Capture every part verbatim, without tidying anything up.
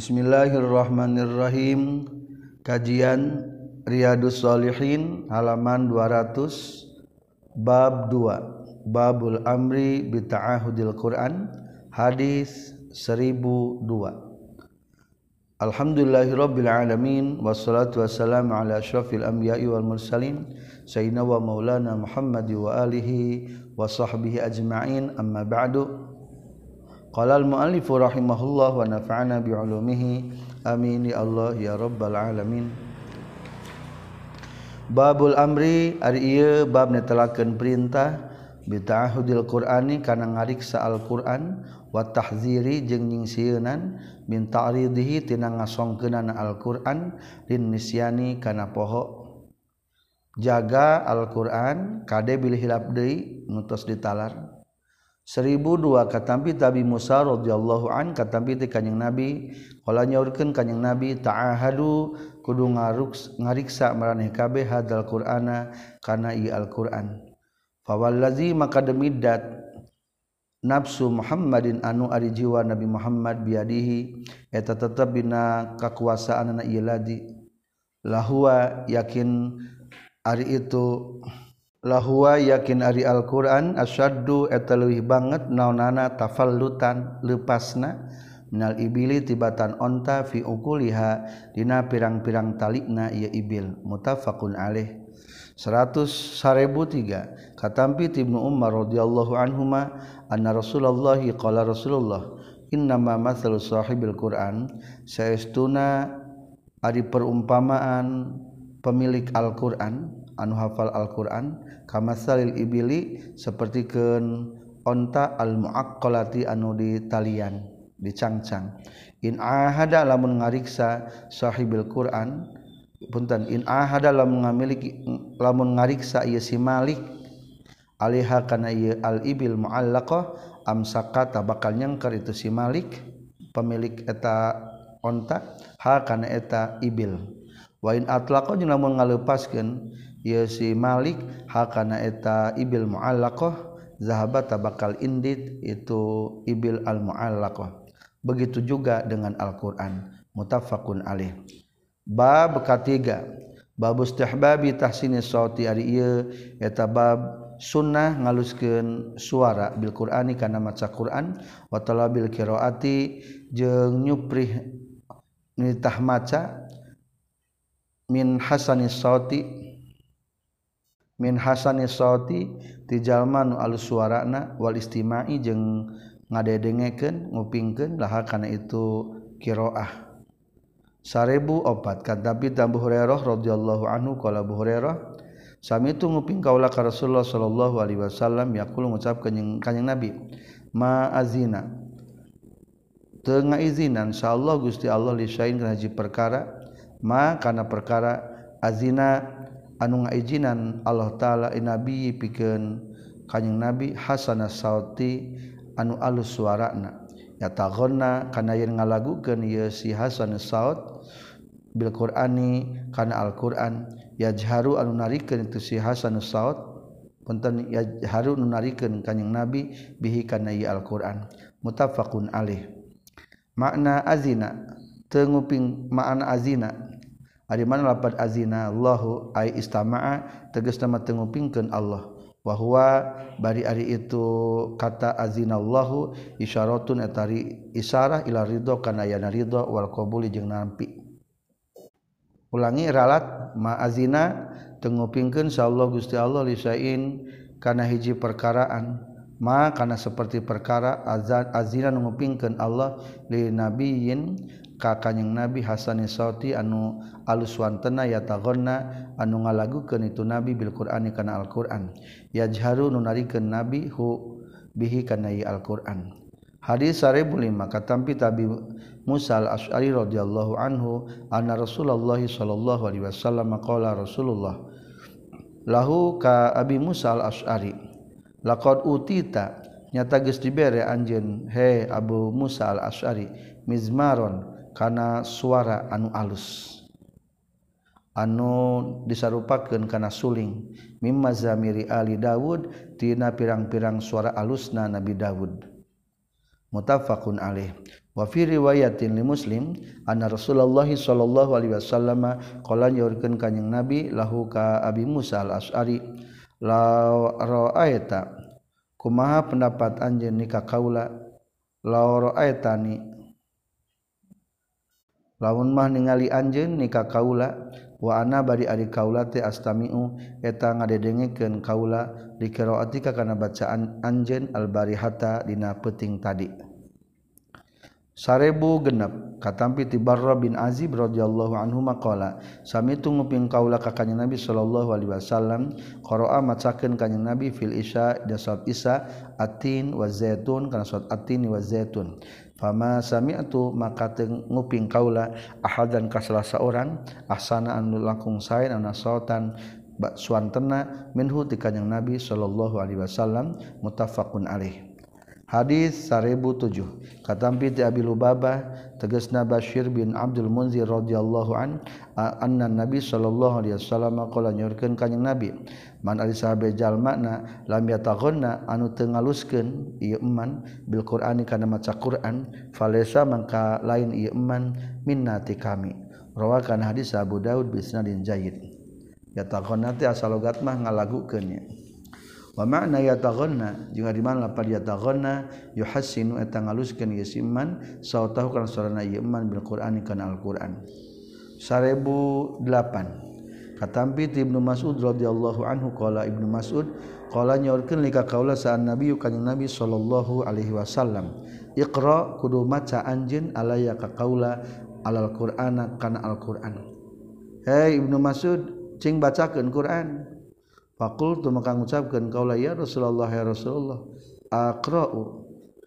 Bismillahirrahmanirrahim. Kajian Riyadhus Shalihin halaman dua ratus, bab dua, babul amri bi ta'ahudil Quran, hadis seribu dua. Alhamdulillahirabbil alamin wassalatu wassalamu ala asyrafil anbiya'i wal mursalin sayyidina wa maulana Muhammad wa alihi wa sahbihi ajma'in, amma ba'du. Qala al-mu'allif rahimahullah wa nafa'ana bi 'ulumihi amin ya Allah ya rabbal alamin. Babul amri ari ieu bab netelakeun perintah bi ta'ahudil Qur'ani kana ngariksa Al-Qur'an wa tahziri jeung nyingsieunan min ta'ridihi tina ngasongkeunana Al-Qur'an lin nisyani kana poho. Jaga Al-Qur'an kade bil hilap deui nutos ditalar. Seribu dua katampi Nabi Musa radhiyallahu an katampi ti kanjing Nabi qala nyaurkeun kanjing Nabi ta'ahadu kudu ngaruks ngariksa maraneh kabeh hadzal Qur'ana kana ieu Al-Qur'an. Fa wallazi maka demidat nafsu Muhammadin anu ari jiwa Nabi Muhammad biadihi eta tetep dina kakuasaanna ieu ladi lahua yakin ari itu lahua yakin ari Al-Qur'an asyaddu eta leuwih banget naonana tafallutan lepasna minal ibili tibatan onta fi uquliha dina pirang-pirang talikna ieu ibil. Muttafaqun alaih. seratus seribu tiga katampi Ibnu Umar radhiyallahu anhuma anna Rasulullah qala Rasulullah innama mathalu sahibil Qur'an saestuna ari perumpamaan pemilik Al-Qur'an anu hafal Al-Qur'an kamasalil ibili sapertikeun onta al-muaqqalati anu ditalian dicangcang. In ahada lamun ngariksa sahibil Qur'an punten in ahada lamun ngamiliki lamun ngariksa ieu si malik alaiha kana ieu al-ibil muallaqah amsaka bakal nyangker itu si malik pemilik eta onta ha kana eta ibil. Wa in atlaqa jeung lamun ngaleupaskeun ieu si malik hakana eta ibil muallaqah zahaba tabakal indit itu ibil al muallaqah. Begitu juga dengan Al-Qur'an. Muttafaqun alaih. Bab katiga bab istihbabi tahsini sauti ari ieu eta bab sunnah ngaluskeun suara bil Qur'ani kana maca Qur'an wa talabil qiraati jeung nyuprih nitah maca min hasanis sauti min hasanis sauti ti jalma nu alus suarana wal istimai jeung ngadedengekeun ngupingkeun laha kana itu qiraah. Seribu opat katapi Abu Hurairah radhiyallahu anhu qala Abu Hurairah sami tu nguping kaula ka Rasulullah sallallahu alaihi wasallam yaqul ngucapkeun kanjing Nabi ma azina teu ngaizinan insyaallah Gusti Allah li sain kana hiji perkara ma kana perkara azina anu ngaijinan Allah taala nabi pikeun kanjing Nabi hasanas sauti anu alus suarana yataghanna kana yen ngalagukeun ieu si hasanus saut bil Qur'ani kana Al-Qur'an yajharu anu narikeun itu si hasanus saut punten yajharu anu narikeun kanjing Nabi bihi kana ieu Al-Qur'an. Muttafaqun alaih. Makna azina teu nguping makna azina ari mana lapat azina Allahu ai istama'a tegasna mah teu ngupingkeun Allah wa huwa bari ari itu kata azina Allahu isyaratun etari isyarah ila ridho kana yana ridho wal qabuli jeung nampi. Ulangi ralat ma azina teu ngupingkeun insyaallah Gusti Allah li sain kana hiji perkaraan ma kana seperti perkara azan azina nu ngupingkeun Allah li nabiyyin ka kanjing Nabi hasanis sauti anu alus wantena yataghanna anu ngalagukeun itu Nabi bil Qur'ani kana Al-Qur'an yajharu nu narikeun Nabi hu bihi kana Al-Qur'an. Hadis seribu lima katampi Tabi Musa al-Asy'ari radhiyallahu anhu anna Rasulullah sallallahu alaihi wasallam qala Rasulullah lahu ka Abi Musa al-Asy'ari laqad utita nyata geus dibere anjeun he Abu Musa al-Asy'ari mizmaron kana suara anu alus anu disarupakeun kana suling mimma zamiri ali Daud tina pirang-pirang suara alusna Nabi Daud. Muttafaqun alaih. wa fi riwayatin li Muslim anna Rasulullah sallallahu alaihi wasallam qala nyaurkeun kanjing Nabi lahu ka Abi Musa al-Asy'ari la ra'aita kumaha pendapat anjeun ni ka kaula la ra'aitani lamun mah ningali anjeun ni ka kaula wa ana bari ari kaula teh astami'u eta ngadedengekeun kaula di qiraatika kana bacaan anjeun al-barihata dina peuting tadi sarebu genep katampi ti Barra bin Azib radhiyallahu anhu maqala samitu nguping kaula ka kanjeng Nabi sallallahu alaihi wasallam qara'a macakeun kanjeng Nabi fil isya da salat isya atin wa zaitun kana salat atin wa zaitun fama sami'tu maka teu nguping kaula ahadan ka salah saorang ahsana anu langkung sae anu sautan suantena minhu ti kanjeng Nabi sallallahu alaihi wasallam muttafaqun alaih. Hadis seribu tujuh katampi ti Abi Lubabah tegasna Bashir bin Abdul Munzir radhiyallahu an anna Nabi sallallahu alaihi wasallam qala nyorkeun kanjing Nabi man ari sahabe jalmana lam yataghanna anu teu ngaluskeun ieu eman bil Qur'ani kana maca Qur'an falesa mangka lain ieu eman minna ti kami rawakan hadis Abu Daud bi isnadin jayyid yataghanna teh asal logat mah ngalagukeun nya wa ma'na yataghanna jeung di mana lapad yataghanna yuhassinu eta ngaluskeun ieu iman sautahu kana sarana ieu iman bil Qur'ani kana Al-Qur'an seribu delapan katampi ti Ibnu Mas'ud radhiyallahu anhu qala Ibnu Mas'ud qala nyaurkeun lika kaula sa'an Nabi kanjing Nabi sallallahu alaihi wasallam iqra kudu maca anjeun alaya ka kaula alal Qur'ana kana Al-Qur'an hei Ibnu Mas'ud cing bacakeun Qur'an Faqultu maka ngucapkeun kaula ya Rasulullah ya Rasulullah aqra'u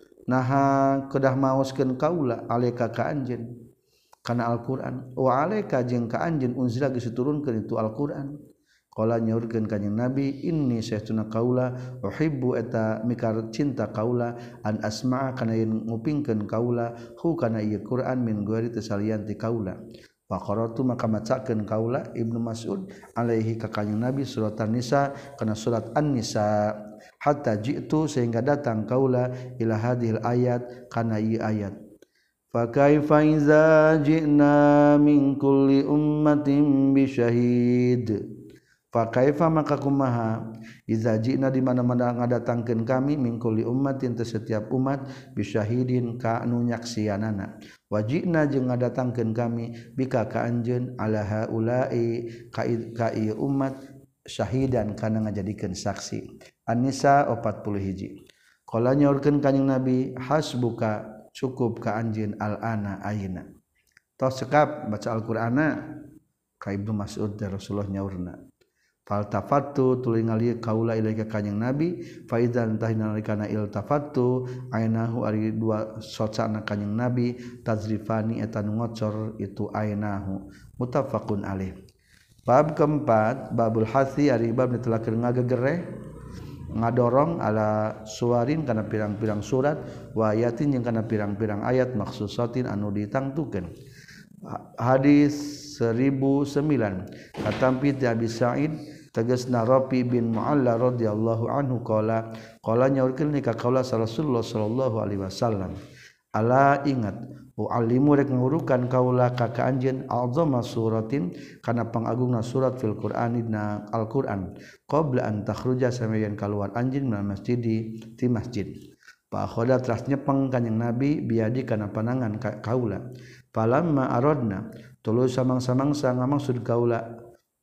naha kedah maoskeun kaula alaika ka anjeun kana Al-Qur'an wa alaika jeung ka anjeun unzila geus diturunkeun itu Al-Qur'an qala nyaurkeun kanjing Nabi inni saytuna kaula uhibbu eta mikar cinta kaula an asma'a kana yen ngupingkeun kaula hu kana ieu Qur'an min ghairi tasalian ti kaula faqaratu maka macakeun kaula Ibnu Mas'ud alaihi ka kanjing Nabi surat An-Nisa kana surat An-Nisa hatta ji'tu sehingga datang kaula ila hadhil ayat kana ieu ayat fa kaifa iza ji'na min kulli ummatin bi syahid fa kaifa maka kumaha iza ji'na di mana-mana ngadatangkeun kami min kulli ummatin teh setiap umat bi syahidin ka anu nyaksianana wajibna jeung ngadatangkeun kami bika ka anjeun ala haula'i ka ieu umat syahidan kana ngajadikeun saksi An-Nisa empat puluh satu qala nyaurkeun kanjing Nabi hasbuka cukup ka anjeun al-ana ayeuna tos sekap baca Al-Qur'ana ka Ibnu Mas'ud teh Rasulullah nyaurna faltafattu tuluy ngali kaula ilaika kanjing Nabi fa idzan tahinalika iltafattu ainahu ari dua socana kanjing Nabi tazrifani eta nu ngocor itu ainahu muttafaqun alaih. Bab keempat babul hasi ari bab ditelakeun ngagegereh ngadorong ala suwarin kana pirang-pirang surat wa ayatin jeung kana pirang-pirang ayat maksusatin anu ditangtukeun. Hadis seribu sembilan katampi ti Abi Sa'id tegasna Rafi bin Mu'alla radhiyallahu anhu qala qala nyaurkeun ka kaula Rasulullah sallallahu alaihi wasallam ala ingat u'allimu rek ngurukan kaula ka ka anjeun azama suratin kana pangagungna surat fil Qur'ani na Al-Qur'an qabla an takhruja samayan kaluar anjeun minal masjidi ti masjid fa khoda teras nyepeng kanjing Nabi biadi kana panangan ka kaula falamma aradna tuluy samang-samangsa ngamaksud kaula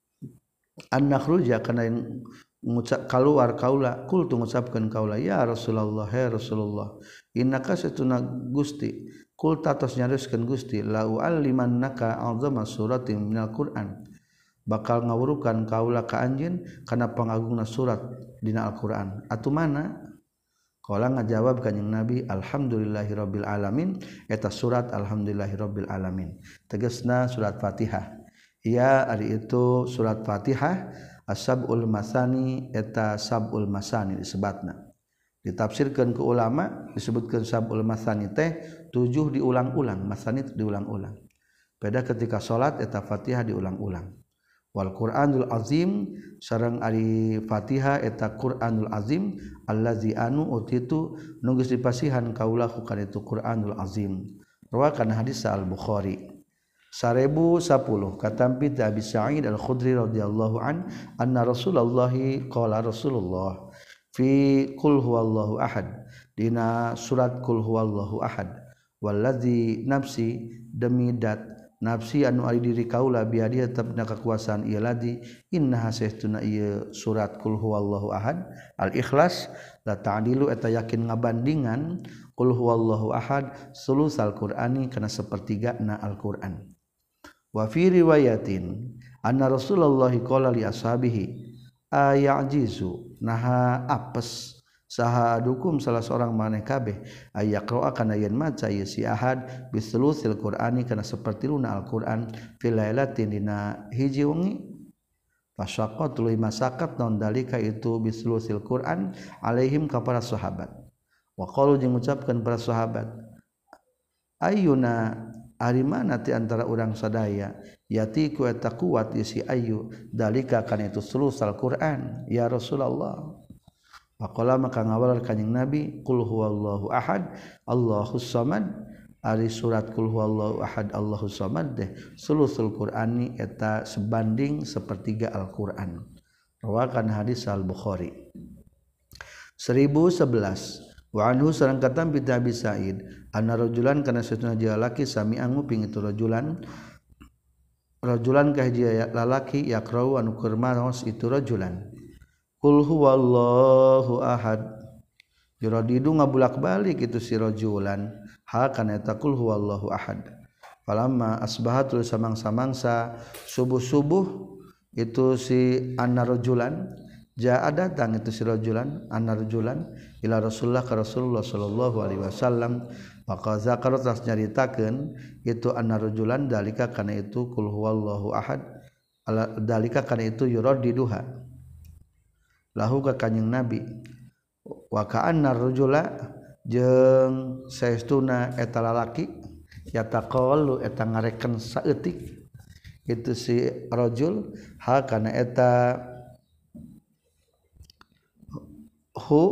an nakhruja kana ngucap kaluar kaula kultu ngucapkeun kaula ya Rasulullah ya Rasulullah innaka satuna Gusti kulta tos nyariskeun Gusti la u'allimannaka azama suratin minal Qur'an bakal ngawurukan kaula ka anjeun kana pangagungna surat dina Al-Qur'an atuh mana qala ngajawab kanjing Nabi alhamdulillahirabbil alamin eta surat alhamdulillahirabbil alamin tegasna surat Fatihah ia ari itu surat Fatihah as-sab'ul masani eta sab'ul masani disebutna ditafsirkeun ku ulama disebutkeun sab'ul masani teh tujuh diulang-ulang masani diulang-ulang beda ketika salat eta Fatihah diulang-ulang wal Qur'anul azim sareng ari Fatihah eta Qur'anul azim allazi anu utitu nu geus dipasihan kaula ku kana itu Qur'anul azim rawakan hadis Al-Bukhari. Sarebu sepuluh katampi ti Abi Sa'id Al-Khudri radhiyallahu an anna Rasulullah qala Rasulullah fi qul huwallahu ahad dina surat qul huwallahu ahad wallazi nafsi demi dat nafsi anu ari diri kaula biadiya tabna kekuasaan ieu ladi innaha saestuna ieu surat qul huwallahu ahad al-ikhlas la ta'dilu eta yakin ngabandingan qul huwallahu ahad sulusal qur'ani kana sapertigana al-Qur'an. Wa fi riwayatin anna Rasulullah qala li ashabihi ayajizu naha apes saha adukum salah seorang maneh kabeh ayaqra kana yen maca ieu si ahad bisulusil qur'ani kana sapertiluna al-Qur'an fil lailatin dina hiji wengi fasyaqat tuluy masakat non dalika itu bisulusil Qur'an alaihim ka para sahabat wa qalu jeung ngucapkeun para sahabat ayyuna ari mana ti antara urang sadaya yati ku eta kuat isi ayu dalika kana itu sulusal Qur'an ya Rasulullah faqala maka ngawalar kanjing Nabi qul huwallahu ahad Allahus samad ari surat qul huwallahu ahad Allahus samad deh sulusul Qur'ani eta sebanding sepertiga Al-Qur'an rawakan hadis Al-Bukhari. Seribu sebelas wa anhu sareng katam bi Abi Sa'id anna rajulan kana satuna jalaki sami anguping itu rajulan rajulan ka hiji lalaki yaqra'u anu keur maos itu rajulan qul huwallahu ahad yuradidu ngabulak-balik itu si rajulan ha kana eta qul huwallahu ahad falamma asbahatul samang-samangsa subuh-subuh itu si anna rajulan jaa datang itu si rajulan anna rajulan ila Rasulullah ka Rasulullah sallallahu alaihi wasallam maka zakar tas nyaritakeun itu anna rajulan dalika kana itu qul huwallahu ahad dalika kana itu yuradiduha lahu ka kanjing Nabi wa ka'anna rajula jeung saestuna eta lalaki yataqallu eta ngareken saeutik itu si rajul ha kana eta hu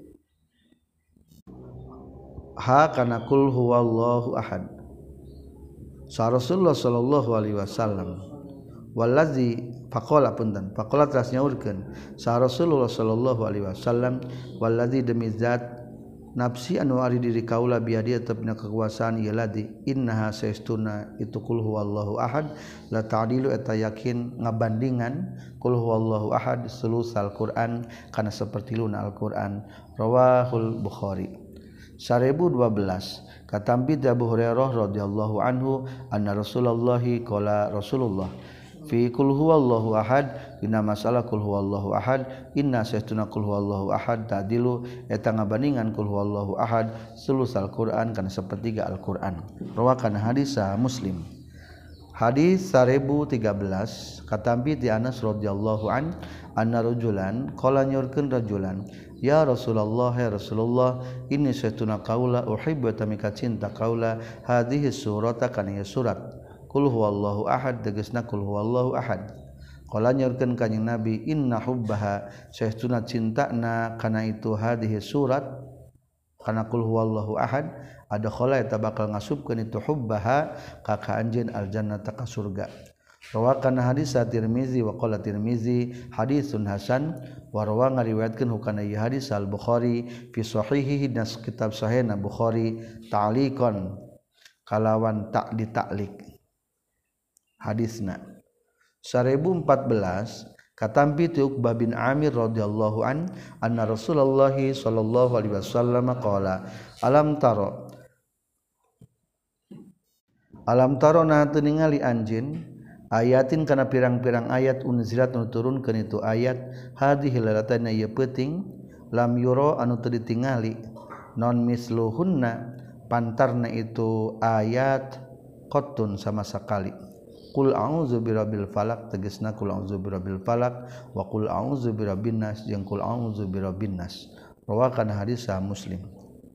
ha kana qul huwallahu ahad sa Rasulullah sallallahu alaihi wasallam wallazi faqala punten faqala teras nyaurkeun sa Rasulullah sallallahu alaihi wasallam wallazi demi zat nafsi anu ari diri kaula biadi tepna kekuasaan ieu ladi innaha saestuna itu qul huwallahu ahad la ta'dilu eta yakin ngabandingan qul huwallahu ahad sulusal Qur'an kana sapertiluna Al-Qur'an rawahul Bukhari. Seribu dua belas katampi Abu Hurairah radhiyallahu anhu anna Rasulullah qala Rasulullah fi qul huwallahu ahad dina masalah qul huwallahu ahad inna saestuna qul huwallahu ahad ta'dilu eta ngabandingan qul huwallahu ahad sulusal Qur'an kana sapertiga Al-Qur'an rawakan hadis Muslim. Hadis seribu tiga belas katampi ti Anas radhiyallahu an anna rajulan qala nyurkeun rajulan ya Rasulullah ya Rasulullah inni saestuna qaula uhibbu tamika cinta qaula hadhihi surata kana surat qul huwallahu ahad tegasna qul huwallahu ahad qala nyurkeun kanjing Nabi inna hubbaha saestuna cintana kana itu hadhihi surat kana qul huwallahu ahad ada khala eta bakal ngasupkeun itu hubbaha ka ka anjeun aljannata ka surga rawakan hadis Tirmizi wa qala Tirmizi hadisun hasan wa rawa ngariwayatkeun hukana ieu hadis Al-Bukhari fi sahihihi nas kitab sahihna Bukhari ta'liqan kalawan tak ditaklik hadisna. Seribu empat belas katampi ti Uqbah bin Amir radhiyallahu an anna Rasulullah sallallahu alaihi wasallam qala alam taro alam taro na teu ningali anjeun ayatin kana pirang-pirang ayat unzilat nu turunkeun itu ayat hadhihi lalatana ieu peuting lam yura anu teu ditingali non misluhunna pantarna itu ayat qattun sama sakali qul a'udzu birabbil falaq tegasna qul a'udzu birabbil falaq wa qul a'udzu birabbin nas jeung qul a'udzu birabbin nas rawakan hadis Muslim.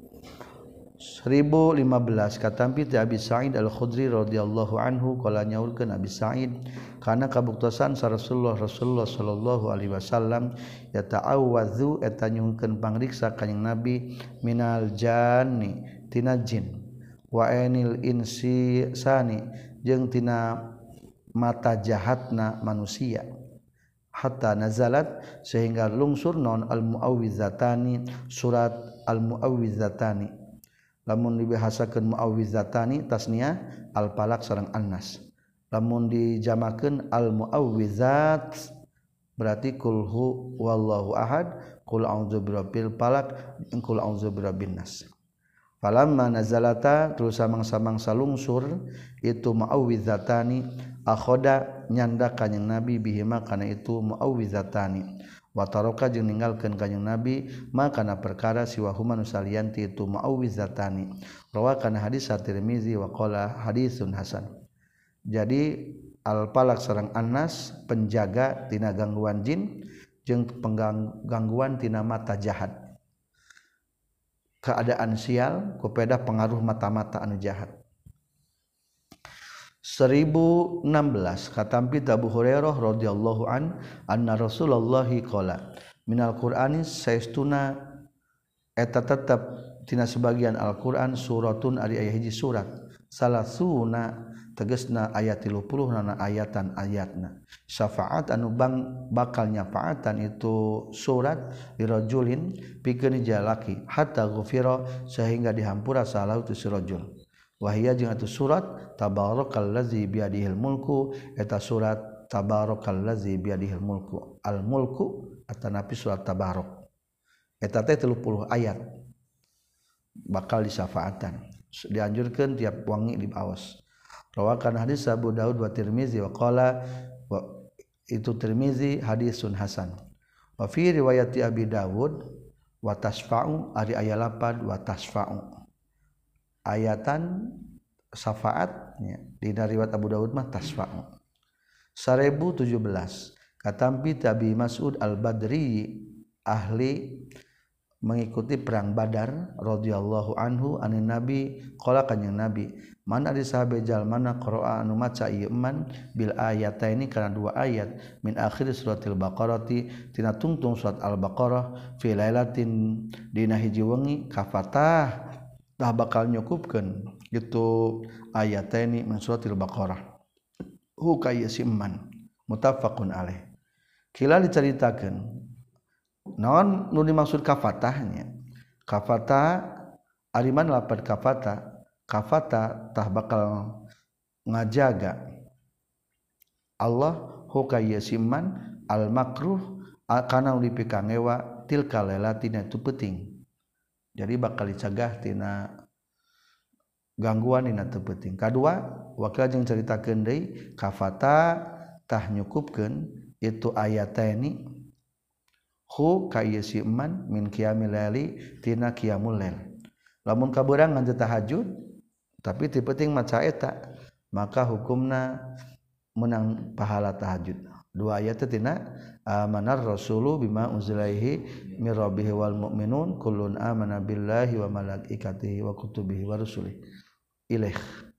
Seribu lima belas katampi ti Abi Sa'id Al-Khudri radhiyallahu anhu qala nyaurkeun Abi Sa'id kana kabuktosan sa Rasulullah Rasulullah sallallahu alaihi wasallam yata'awwadzu eta nyungkeun pangriksa kanjing Nabi minal janni tina jin wa ainil insani jeung tina mata jahatna manusia hatta nazalat sehingga lungsur non al muawwizatani surat al muawwizatani lamun dibahasakeun muawwizatani tasniah al falaq sareng annas lamun dijamakeun al muawwizat berarti kul hu wallahu ahad qul a'udzu birabbil falaq qul a'udzu birabbin nas falamma nazalata terus samang-samang salungsur itu muawwizatani akhoda nyanda kanjing nabi bihima kana itu muawwizatani wa taraka jeung ninggalkeun kanjing nabi makana perkara siwa huma nusalianti itu muawwizatani rawa kana hadis at-Tirmizi wa qala hadisun hasan. Jadi al falaq sareng annas penjaga tina gangguan jin jeung penggangguan tina mata jahat keadaan sial kupeda pengaruh mata-mata anu jahat. seribu enam belas katampi Abu Hurairah radhiyallahu an anna Rasulullah qala minal Qur'ani saestuna eta tetep tina sebagian Al-Qur'an suratun ari aya hiji surat salasuna tegasna ayat tilu puluh nana ayatan ayatna syafaat anu bang bakal nyafaatan itu surat dirajulin pikeun jalaki hatta ghufira sehingga dihampura salah itu sirajul wahia jeung atuh surat tabarakallazi biadihil mulku eta surat tabarakallazi biadihil mulku al mulku atanapi surat tabarak eta teh tilu puluh ayat bakal disyafaatan dianjurkeun tiap wangi diaos. Rawakan hadis Abu Daud wa Tirmizi wa qala wa itu Tirmizi hadisun hasan. Wa fi riwayati Abi Dawud wa tasfa'u ari aya lapan wa tasfa'u. Ayatan syafaat ya, di riwayat Abu Daud mah tasfa'u. seribu tujuh belas katampi Tabi Mas'ud Al-Badri ahli mengikuti perang Badar radhiyallahu anhu anin nabi qala kanjing nabi mana di sahabe jalmana qira'a anu maca ieu man bil ayataini kana dua ayat min akhir suratil baqarati tina tungtung surat al-baqarah fi lailatin dina hiji wengi kafatah tah bakal nyukupkeun gitu ayataini min suratil baqarah hu kayyiman muttafaqun alaih kila diceritakeun naon nu dimaksud kafatahnya kafata ariman lapad kafata kafata tah bakal ngajaga Allah hukayasiman al makruh kana dipikangewa tilka lailatina tu penting jadi bakal dicegah tina gangguan dina teu penting kadua wakil jeung caritakeun deui kafata tah nyukupkeun itu ayataini hu kayasiman min qiyamil laili tina qiyamul lail lamun kabeurang ngan tahajud tapi ti penting maca eta maka hukumna menang pahala tahajud dua ayat tina amanar rasulu bima unzilaihi mir rabbihi wal mu'minun kullun amana billahi wa malaikatihi wa kutubihi wa rusulihi ilaih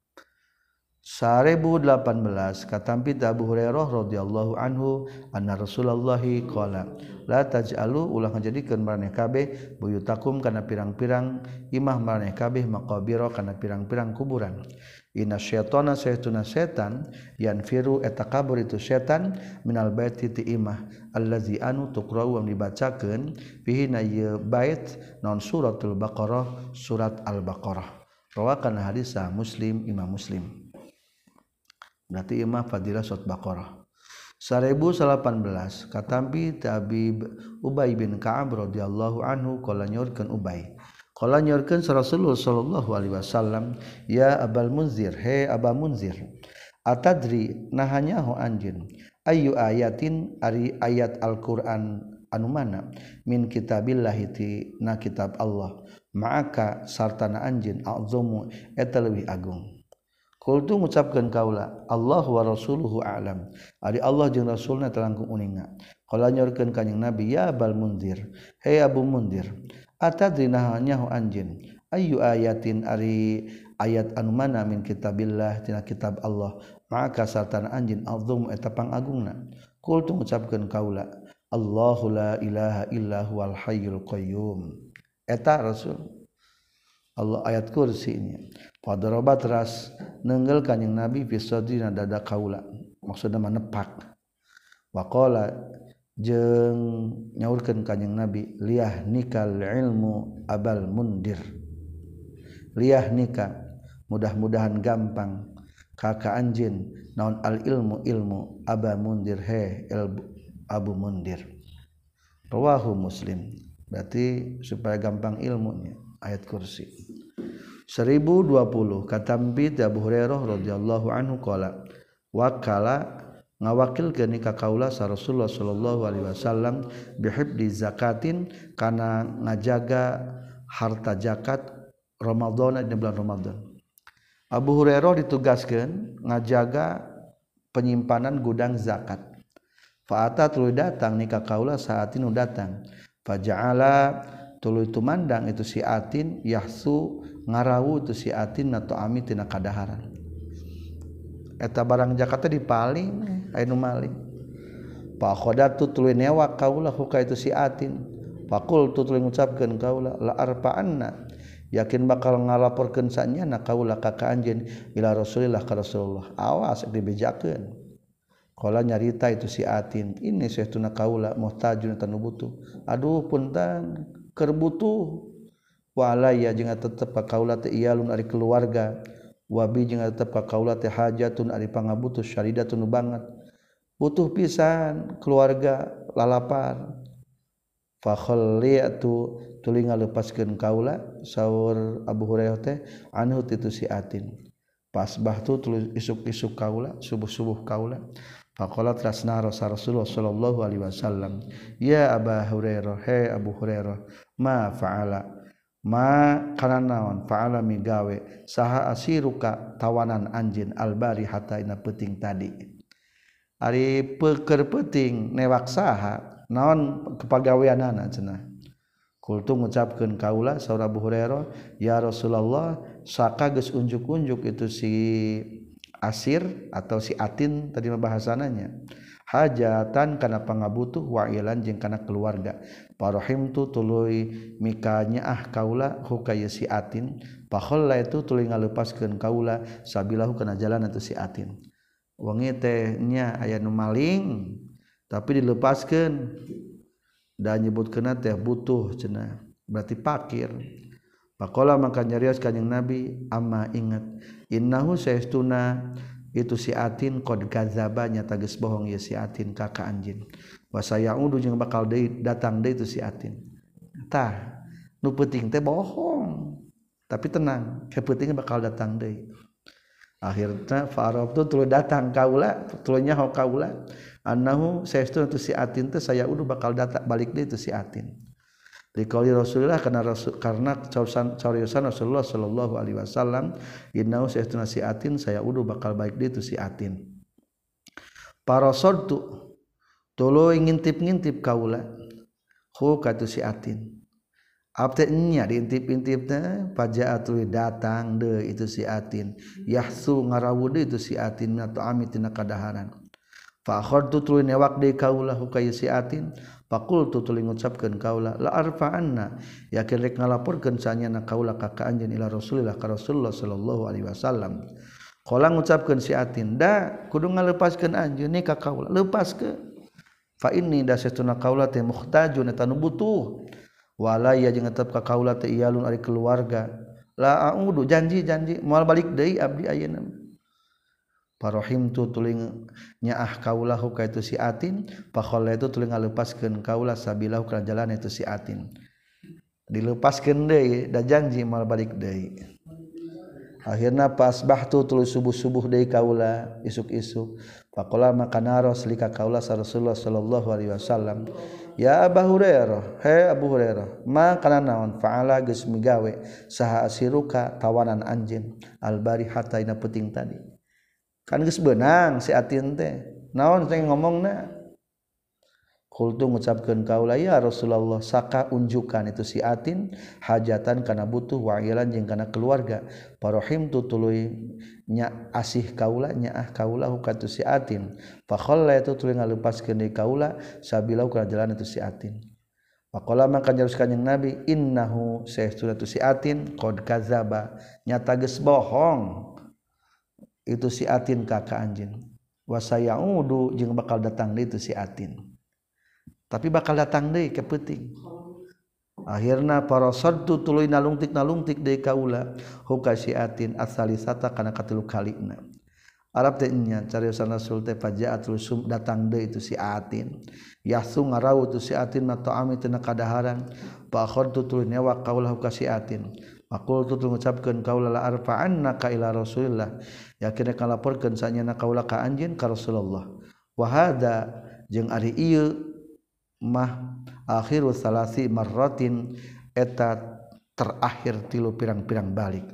seribu delapan belas katampi Abu Hurairah radhiyallahu anhu anna Rasulullah qala la taj'alu ulah ngajadikeun maraneh kabeh buyutakum kana pirang-pirang imah maraneh kabeh maqabira kana pirang-pirang kuburan inna syaitana saytuna setan yanfiru eta kabur itu setan minal baiti ti imah allazi anu tuqra'u am dibacakeun fihi na ye bait non suratul baqarah surat al-baqarah rawakan hadis Muslim Imam Muslim berarti imah fadilah surat baqarah seribu delapan belas katampi Tabi Ubay bin Ka'ab radhiyallahu anhu qala nyorkeun Ubay qala nyorkeun Rasulullah sallallahu alaihi wasallam ya Abul Munzir he Aba Munzir atadri nahanya ho anjeun ayu ayatin ari ayat Al-Qur'an anu mana min kitabillahi ti na kitab Allah ma'aka sartana anjeun azumu eta leuwih agung Qultu ngucapkeun kaula Allah wa rasuluhu a'lam ari Allah jeung rasulna telangkung uninga qala nyorkeun kanjing nabi ya Abul Munzir he Abu Munzir atadri nyaho anjeun ayu ayatin ari ayat anu mana min kitabillah tina kitab Allah maka sartana anjeun azum eta pangagungna qultu ngucapkeun kaula Allahu la ilaha illa huwal hayyul qayyum eta rasul Allah ayat kursinya fadaraba teras nenggel kanjing Nabi fi sadrina dada kaula maksudna menepak waqala jeung nyaurkeun kanjing Nabi liyah nikal ilmu abal mundir liyah nikah mudah-mudahan gampang kakak anjeun naon al ilmu ilmu aba mundir he abu mundir rawahu Muslim berarti supaya gampang ilmunya ayat kursi seribu dua puluh katambi Abu Hurairah radhiyallahu anhu qala wakala ngawakilkeun ka kaula sa Rasulullah sallallahu alaihi wasallam bihibdi zakatin kana ngajaga harta zakat Ramadan di bulan Ramadan. Abu Hurairah ditugaskeun ngajaga penyimpanan gudang zakat. Fa'ata tuluy datang ni ka kaula saatin nu datang. Faja'ala tuluy tumandang itu si atin yahsu ngarawu itu si atin na ta'ami tina kadaharan. Eta barang zakat teh dipaling aya nu maling. Fa khodatu tuluy newak kaula huka itu si atin. Faqul tuluy ngucapkeun kaula la arfa'anna yakin bakal ngalaporkeun sanyana kaula ka ka anjeun ila Rasulillah ka Rasulullah. Awas dibejakeun. Qala nyarita itu si atin ini saestuna kaula muhtajun tanu butuh. Aduh punten keur butuh. Wa alayya jeung tetep ka kaula teh iyalun ari keluarga. Wabi jeung tetep ka kaula teh hajatun ari pangabutuh syaridatun banget butuh pisan keluarga lalapar fa khalliyatu tuluy ngalepaskeun kaula saur Abu Hurairah teh anhu titu si atin pas bahtu tuluy isuk-isuk kaula subuh-subuh kaula faqala trasna Rasulullah sallallahu alaihi wasallam ya Abu Hurairah he Abu Hurairah ma fa'ala ma kana naon fa'ala migawe saha asiruka tawanan anjeun albari hatta ina peuting tadi ari peuker peuting newak saha naon kepagaweanana cenah kultu ngucapkeun kaula saur Abu Hurairah ya Rasulullah saka geus unjuk-unjuk itu si asir atau si atin tadi bahasananya hajatan kana pangabutuh wa ilan jeung kana keluarga parahimtu tuluy mikanya ah kaula hukaya si atin pakhalla itu tuluy ngalepaskeun kaula sabilahu kana jalan atuh si atin wengi teh nya aya nu maling tapi dilepaskeun da nyebutkeunna teh butuh cenah berarti fakir faqala maka nyarios kanjing Nabi amma ingat innahu saestuna itu si atin qad kadzaba nyata geus bohong ya si atin ka ka anjeun wa sayaudu jeung bakal deui datang deui itu si atin tah nu peuting teh bohong tapi tenang ke peuting bakal datang deui akhirna fa'arabtu tuluy datang kaula tuluy nyaho kaula annahu saestu itu si atin teh sayaudu bakal datang balik deui itu si atin Dikali Rasulullah karena Rasul karena cariyosan Rasulullah sallallahu alaihi wasallam innahu saestuna si atin saya udu bakal baik dia itu si atin. Parasodtu tuluy ngintip-ngintip kaula hu ka tu si atin. Abte nya diintip-intipna pajaa tuluy datang deui itu si atin. Yahsu ngarawu deui itu si atin atau amitina kadaharan. Fa akhadtu tuluy newak deui kaula hu ka si atin. Faqultu tuluy ngucapkeun kaula la arfa'anna yakin rek ngalaporkeun sanyana kaula ka ka anjeun ila Rasulillah ka Rasulullah sallallahu alaihi wasallam. Qala ngucapkeun si atin da kudu ngalepaskeun anjeun ni ka kaula lepaskeun. Fa inni dasatuna kaula teh muhtajun eta nu butuh. Wala ya jeung tetep ka kaula teh iyalun ari keluarga. La a'udu janji-janji moal balik deui abdi ayeuna. Parahimtu tuling nyaah kaulahu ka itu si atin pakhalla itu tuling ngalepaskeun kaula sabilahu kana jalan itu si atin dilepaskeun deui da janji mal balik deui akhirna pas bahtu tuluy subuh-subuh deui kaula isuk-isuk faqala maka naros lika kaula sa Rasulullah sallallahu alaihi wasallam ya Abu Hurairah he Abu Hurairah ma kana naon fa'ala geus migawe saha asiruka tawanan anjeun albari hatta ina peuting tadi kan geus beunang si atin teh naon teh ngomongna qultu ngucapkeun kaula ya Rasulullah saka unjukan itu si atin hajatan kana butuh wa'ilan jeung kana keluarga parahimtu tuluy nya asih kaula nyaah kaula ka tu si atin fa khalla itu tuluy ngalepaskeun deui kaula sabilau kana jalan itu si atin Faqala maka nyaros kanjing Nabi innahu saestuna tu si atin qad kadzaba nyata geus bohong itu si atin ka ka anjeun wa sayaudu jeung bakal datang deui itu si atin tapi bakal datang deui ke peuting akhirna parasadtu tuluy nalungtik nalungtik deui kaula huka si atin asalisata kana katilu kalina Arab teh nya cariosan Rasul teh fajaat rusum datang deui itu si atin yasu ngarau tu si atin na ta'ami tina kadaharan fa akhadtu tuluy nyawa kaula huka si atin maqul tu ngucapkeun kaula la arfa'annaka ila Rasulillah yakin kalaporkeun sanyana kaula ka anjeun ka Rasulullah wa hada jeung ari ieu mah akhiru salasi marratin eta terakhir tilu pirang-pirang balik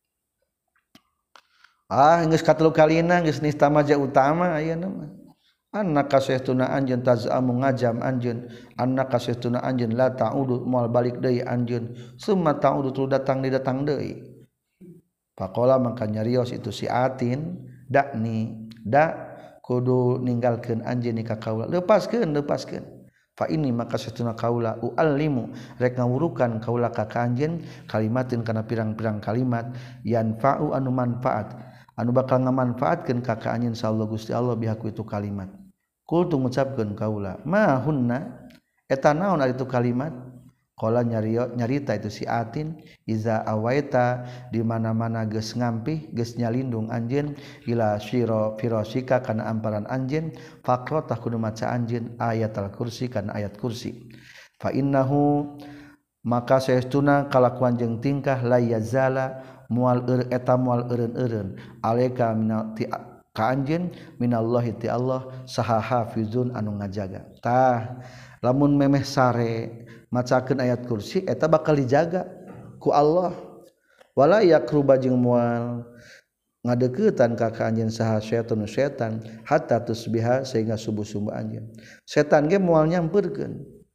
ah geus katelu kalina geus nistamaja utama ayeuna mah annaka saestuna anjeun tazamu ngajam anjeun annaka saestuna anjeun la ta'udu moal balik deui anjeun summa ta'udu tu datang di datang deui faqala maka nyarios itu si atin dakni da kudu ninggalkeun anjeun ka kaula lepaskeun lepaskeun fa ini maka saestuna kaula uallimu rek ngawurukan kaula ka anjeun kalimatin kana pirang-pirang kalimat yanfa'u anu manfaat anu bakal ngamanfaatkeun ka ka anjeun insyaallah Gusti Allah bihaku itu kalimat kul tu ngucapkeun kaula ma hunna eta naon ari itu kalimat qala nyario nyarita itu si atin iza awaita di mana-mana geus ngampih geus nyalindung anjeun ila syira firasika kana amparan anjeun faqra'ta kudu maca anjeun ayat al-kursi kana ayat kursi fa innahu maka saestuna kalakuan jeung tingkah la yazala mual eur eta mual eureun-eureun alaika minal ti ka anjeun minallahi ti Allah saha hafizun anu ngajaga tah lamun memeh sare macakeun ayat kursi eta bakal dijaga ku Allah wala yakruba jeung mual ngadeuketan ka ka anjeun saha setan setan hatta tusbiha sehingga subuh-subuh anjeun setan ge moal nyampeurkeun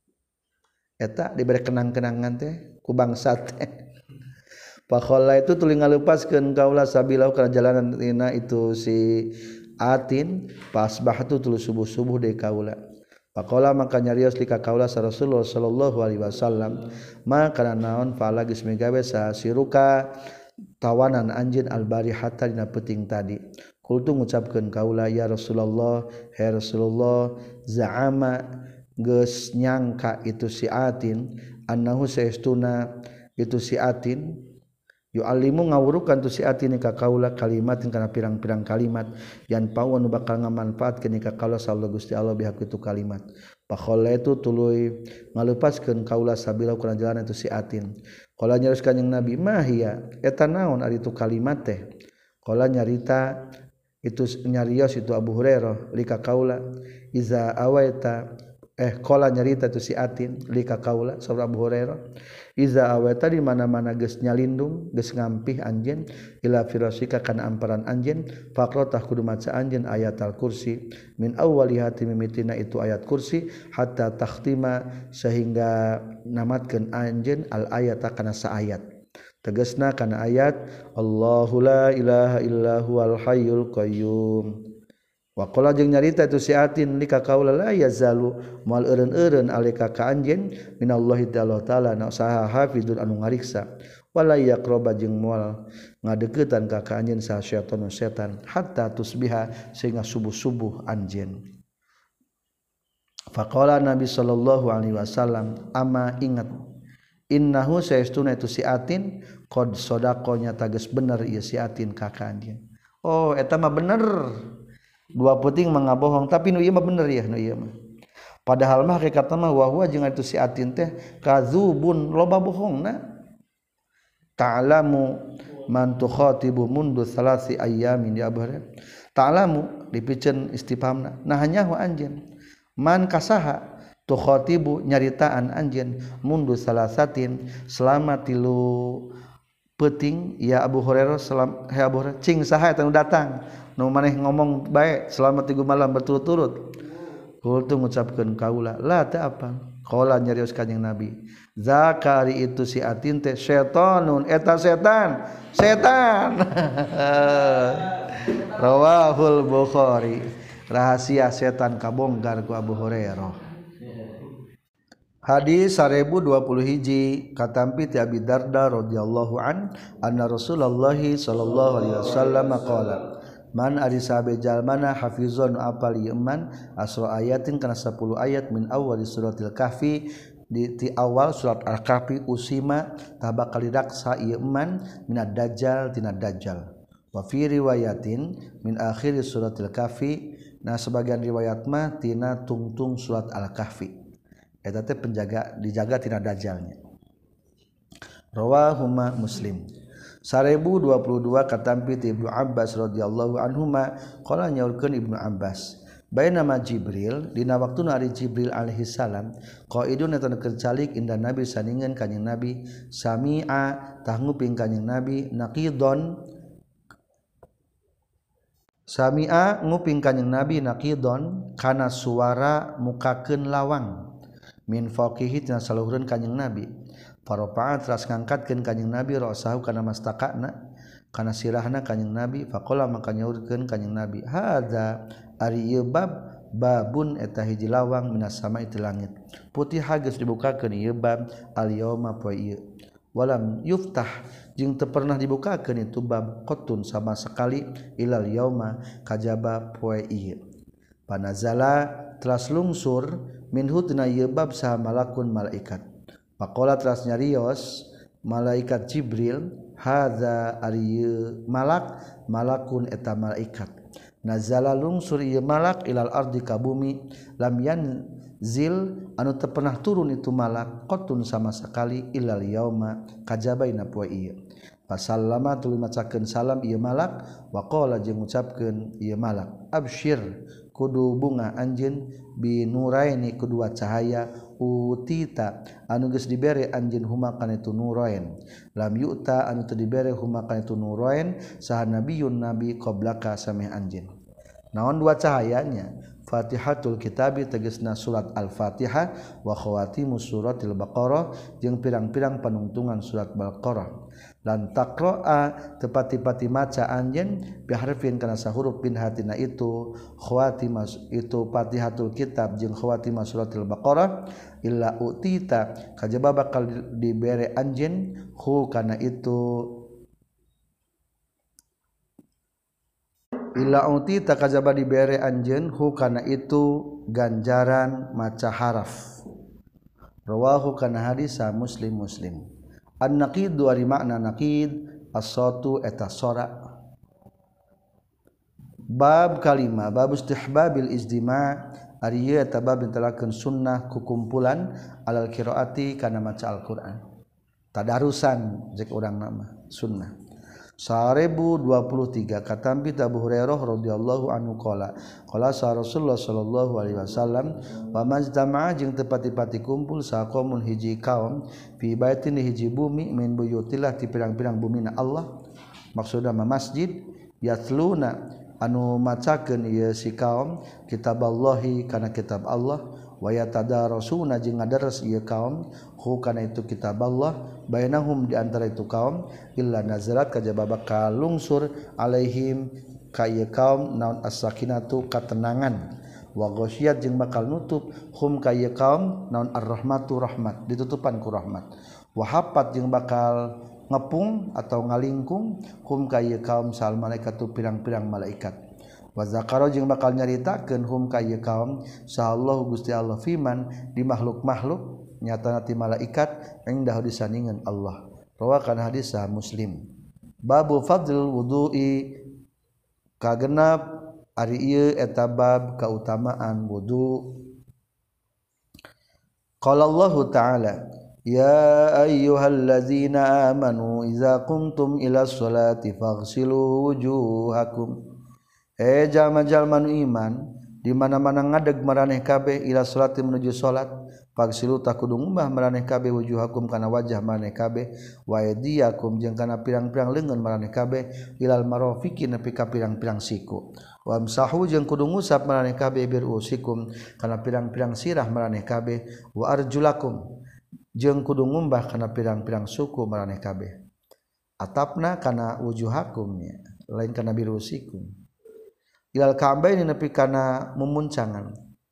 eta dibere kenang-kenangan teh ku bangsa teh Pakhola itu tuluy ngalepaskeun kaula sabilau kana jalanan dina itu si atin pas bahatu tuluy subuh-subuh deui kaula. Pakhola maka nyarios lika kaula sa Rasulullah sallallahu alaihi wasallam maka naon fala geus migawe sa siruka tawanan anjeun albarihata dina peuting tadi. Kultu ngucapkeun kaula ya Rasulullah ya Rasulullah za'ama geus nyangka itu si atin annahu saestuna itu si atin yu'allimu ngawurukan tu si atin ka kaula kalimatin kana pirang-pirang kalimat yan pau anu bakal ngamanfaatkeun ka kaula sallallahu Gusti Allah biha kitu kalimat pakhola itu tuluy ngalepaskeun kaula sabila kana jalan itu si atin qala nyaris kanjing Nabi mahiya eta naon ari tu kalimat teh qala nyarita itu nyarios itu Abu Hurairah lika kaula iza awaita eh qala nyarita tu si atin lika kaula saur Abu Hurairah iza awata di mana-mana geus nyalindung geus ngampih anjeun ila firasika kana amparan anjeun faqratah kudu maca anjeun ayat al-kursi min awwali hati mimitina itu ayat kursi hatta takhtima sehingga namatkeun anjeun al ayata kana saayat tegasna kana ayat Allahu la ilaha illa huwal hayyul qayyum wa qala jeung nyarita itu si atin lika kaula la yazalu moal eureun-eureun alika ka anjeun minallahi ta'ala na saha hafizun anu ngariksa wala yaqraba jeung moal ngadeuketan ka ka anjeun saha syaitan setan hatta tusbiha sehingga subuh-subuh anjeun faqala Nabi sallallahu alaihi wasallam ama ingat innahu saestuna itu si atin qad sadaqanya tages bener ieu si atin ka ka anjeun oh eta mah bener dua puting mengabohong tapi nu ieu mah bener ya nu ieu mah padahal mah hakikatna mah wa huwa jeung itu si atin teh kadzubun loba bohongna ta'lamu man tukhatibu mundu salasi ayyamin ya abhar ta'lamu dipikeun istifhamna nah nyaho anjeun man kasaha tukhatibu nyaritaan anjeun mundu salasatin selama tilu peuting ya Abu Hurairah salam he Abu Hurairah cing saha eta nu datang nu maneh ngomong bae selama tiga malam berturut-turut kultu ngucapkeun kaula la teu apa qala nyarios kanjing Nabi zakari itu si atin teh setanun eta setan setan rawahul Bukhari rahasia setan kabongkar ku Abu Hurairah Hadis seribu dua puluh hiji katampi ti Abi Darda radhiyallahu an anna Rasulullah sallallahu alaihi wasallam qala man ari sabe jalmana hafizun apal iman asra ayatin kana sepuluh ayat min awal suratil kahfi di ti awal surat al-kahfi usima tabakal didaksa ieu iman minad dajjal tina dajjal wa fi riwayatin min akhir suratil kahfi nah sebagian riwayat mah tina tungtung surat al-kahfi eta teh penjaga dijaga tina dajjalnya. Rawahuma Muslim. seribu dua puluh dua katampi ti Ibnu Abbas radhiyallahu anhuma qala nyaurkeun Ibnu Abbas bainama Jibril dina waktuna ari Jibril alaihi salam qaidun eta kercalik inda Nabi saningan kanjing Nabi sami'a tah nguping kanjing Nabi naqidon sami'a nguping kanjing Nabi naqidon kana suara mukakeun lawang min faqihi tina saluhureun kanjing Nabi faropa'a teras ngangkatkeun kanjing Nabi rasahu kana mastaqana kana sirahna kanjing Nabi faqala maka nyaurkeun kanjing Nabi hadza ari ieu bab babun eta hiji lawang minas sama'i ti langit putih geus dibukakeun ieu bab al yauma poe ieu walam yuftah jeung teu pernah dibukakeun itu bab qatun sama sekali ilal yauma kajaba poe ieu panazala teras lungsur minhu tina ieu bab saha malakun malaikat faqala teras nyarios malaikat Jibril hadza ari malak malakun eta malaikat nazala lungsur ieu malak ilal ardi ka bumi lam yanzil anu teu pernah turun itu malak qatun sama sekali ilal yauma kajabaina poe ieu pasallama tuluy macakeun salam ieu malak wa qala jeung ngucapkeun ieu malak absyir kudu bunga anjeun binuraini kedua cahaya utita anu geus dibere anjeun huma kana itu nurain lam yu'ta anu teu dibere huma kana itu nurain saha nabiyun nabi qablaka sameh anjeun naon dua cahayanya Fatihatul Kitabi tegasna surat Al-Fatihah wa khawatimus suratil Baqarah jeung pirang-pirang panungtungan surat Baqarah lan taqra'a tepati-pati maca anjeun biharfin kana sahuruf bin hatina itu khawatimas itu Fatihatul Kitab jeung khawatimas suratil Baqarah illa utita kajaba bakal dibere anjeun hu kana itu illa uti takajaba dibere anjeun hu kana itu ganjaran maca haraf rawahu kana hadis Muslim Muslim an-naqid ari makna naqid as-satu eta sora bab kalima bab istihbabil izdima ari ieu eta bab ditelakeun sunnah kukumpulan alal qiraati kana maca Al-Qur'an tadarusan jeung urang nama sunnah seribu dua puluh tiga katampi Abu Hurairah radhiyallahu anhu qala qala Rasulullah sallallahu alaihi wasallam wa majtama'a jeung teu pati-pati kumpul saqaumun hiji kaum fi baitin hiji bumi min buyutillah ti pirang-pirang bumina Allah maksudna masjid yatluna anu macakeun ieu si kaum kitaballahi kana kitab Allah wa yatadarasuna jeung ngadares ieu kaum hu kana itu kitab Allah bainahum di antara itu kaum illa nazarat kajaba bakal lungsur alaihim ka ieu kaum naon as-sakinatu katenangan wa ghasyiyat jeung bakal nutup hum ka ieu kaum naon ar-rahmatu rahmat ditutupan ku rahmat wa hafat jeung bakal ngepung atau ngalingkung hum ka ieu kaum sal malaikatu pirang-pirang malaikat wa zakara jeung bakal nyaritakeun hum ka ieu kaum sahallahu Gusti Allah fiman di makhluk-makhluk nyatana ti malaikat indah disandingan Allah rawakan hadis sah Muslim babu fadlul wudu'i kagenap ari ieu eta bab kautamaan wudu qala Allah ta'ala ya ayyuhallazina amanu idza qumtum ila sholati faghsilu wujuhakum eh jalma-jalma nu iman di mana-mana ngadeg maraneh kabeh ila sholati menuju salat fagsilu takudu ngumbah maraneh kabeh wujuhakum kana wajah maraneh kabeh wa aydiyakum jeung kana pirang-pirang leungeun maraneh kabeh ilal marafiqi nepi ka pirang-pirang siku wa amsahu jeung kudu ngusap maraneh kabeh bir usikum kana pirang-pirang sirah maraneh kabeh wa arjulakum jeung kudu ngumbah kana pirang-pirang suku maraneh kabeh atapna kana wujuhakum ya lain kana bir usikum ilal ka'baini nepi kana mumuncangan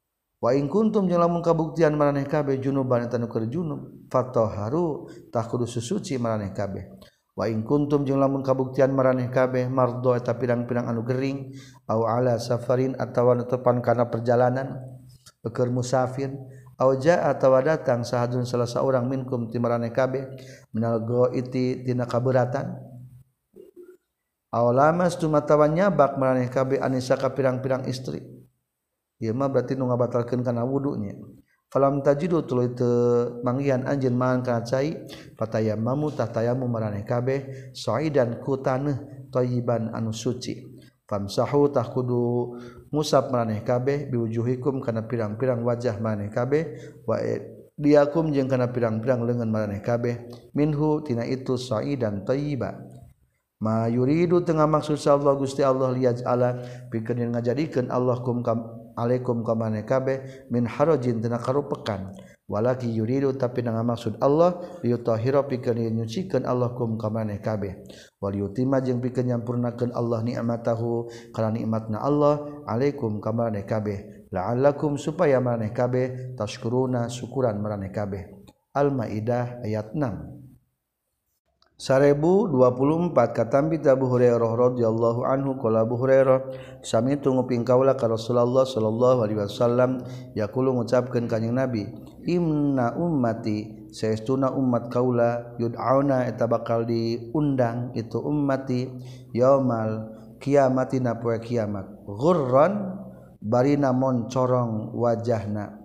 wa in kuntum jeung lamun kabuktian maraneh kabeh junuban eta nu keur junub fatahharu tah kudu susuci maraneh kabeh wa in kuntum jeung lamun kabuktian maraneh kabeh mardo eta pirang-pirang anu gering au ala safarin atawa netepan kana perjalanan keur musafir au jaa atawa datang sahadun salah saurang minkum ti maraneh kabeh minal ghaiti tina kabeuratan aw lamastum atawa nyabak maraneh kabeh anisa ka pirang-pirang istri. Ieu mah berarti nu ngabatalkeun kana wudunya. Falam tajidu tuluy teu manggihan anjeun mahan kana cai, fatayammamu tah tayamum maraneh kabeh saidan ku taneuh thayyiban anu suci. Famsahu tah kudu ngusap maraneh kabeh biwujuhikum kana pirang-pirang wajah maraneh kabeh wa diakum jeung kana pirang-pirang leungeun maraneh kabeh minhu tina itu saidan thayyiba. Ma yuridu tengah maksud Allah Gusti Allah liyaj'ala pikeun ngajadikeun Allah kum alaikum kamane kabeh min harajin tina karupekan walaki yuridu tapi dengan maksud Allah liyutahhira pikeun nyucikeun Allah kum kamane kabeh wal yutimma jeung pikeun nyampurnakeun Allah nikmatahu kana nikmatna Allah alaikum kamane kabeh la'allakum supaya maneh kabeh tashkuruna syukuran maneh kabeh. Al-Maidah ayat enam. Seribu dua puluh empat katambi Abu Hurairah radhiyallahu anhu qala Abu Hurairah sami tu nguping kaula ka Rasulullah sallallahu alaihi wasallam yaqulu ngucapkeun kanjing Nabi inna ummati saestuna umat kaula yud'auna eta bakal diundang itu ummati yaumal kiamatina poe kiamat ghurran barina moncorong wajahna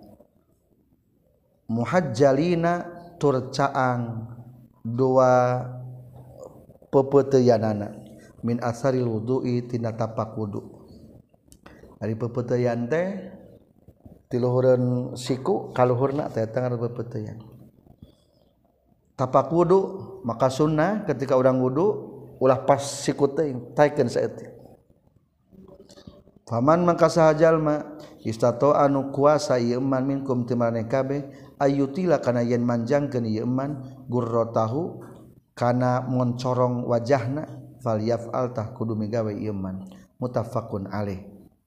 muhajjalina turcaang dua pepeuteyanana min asaril wudu'i tina tapak wudu. Ari pepeuteyan teh ti luhureun siku ka luhurna teh eta ngaranna pepeuteyan. Tapak wudu maka sunnah ketika urang wudu ulah pas siku teuing taikeun saeutik. Faman mangka saha jalma istato anu kuasa ieu man minkum ti maneh kabeh ayutila kana yen manjangkeun ieu man gurratahu kana moncorong wajahna falyaf'al tah kudu migawe ieu man muttafaqun alaih.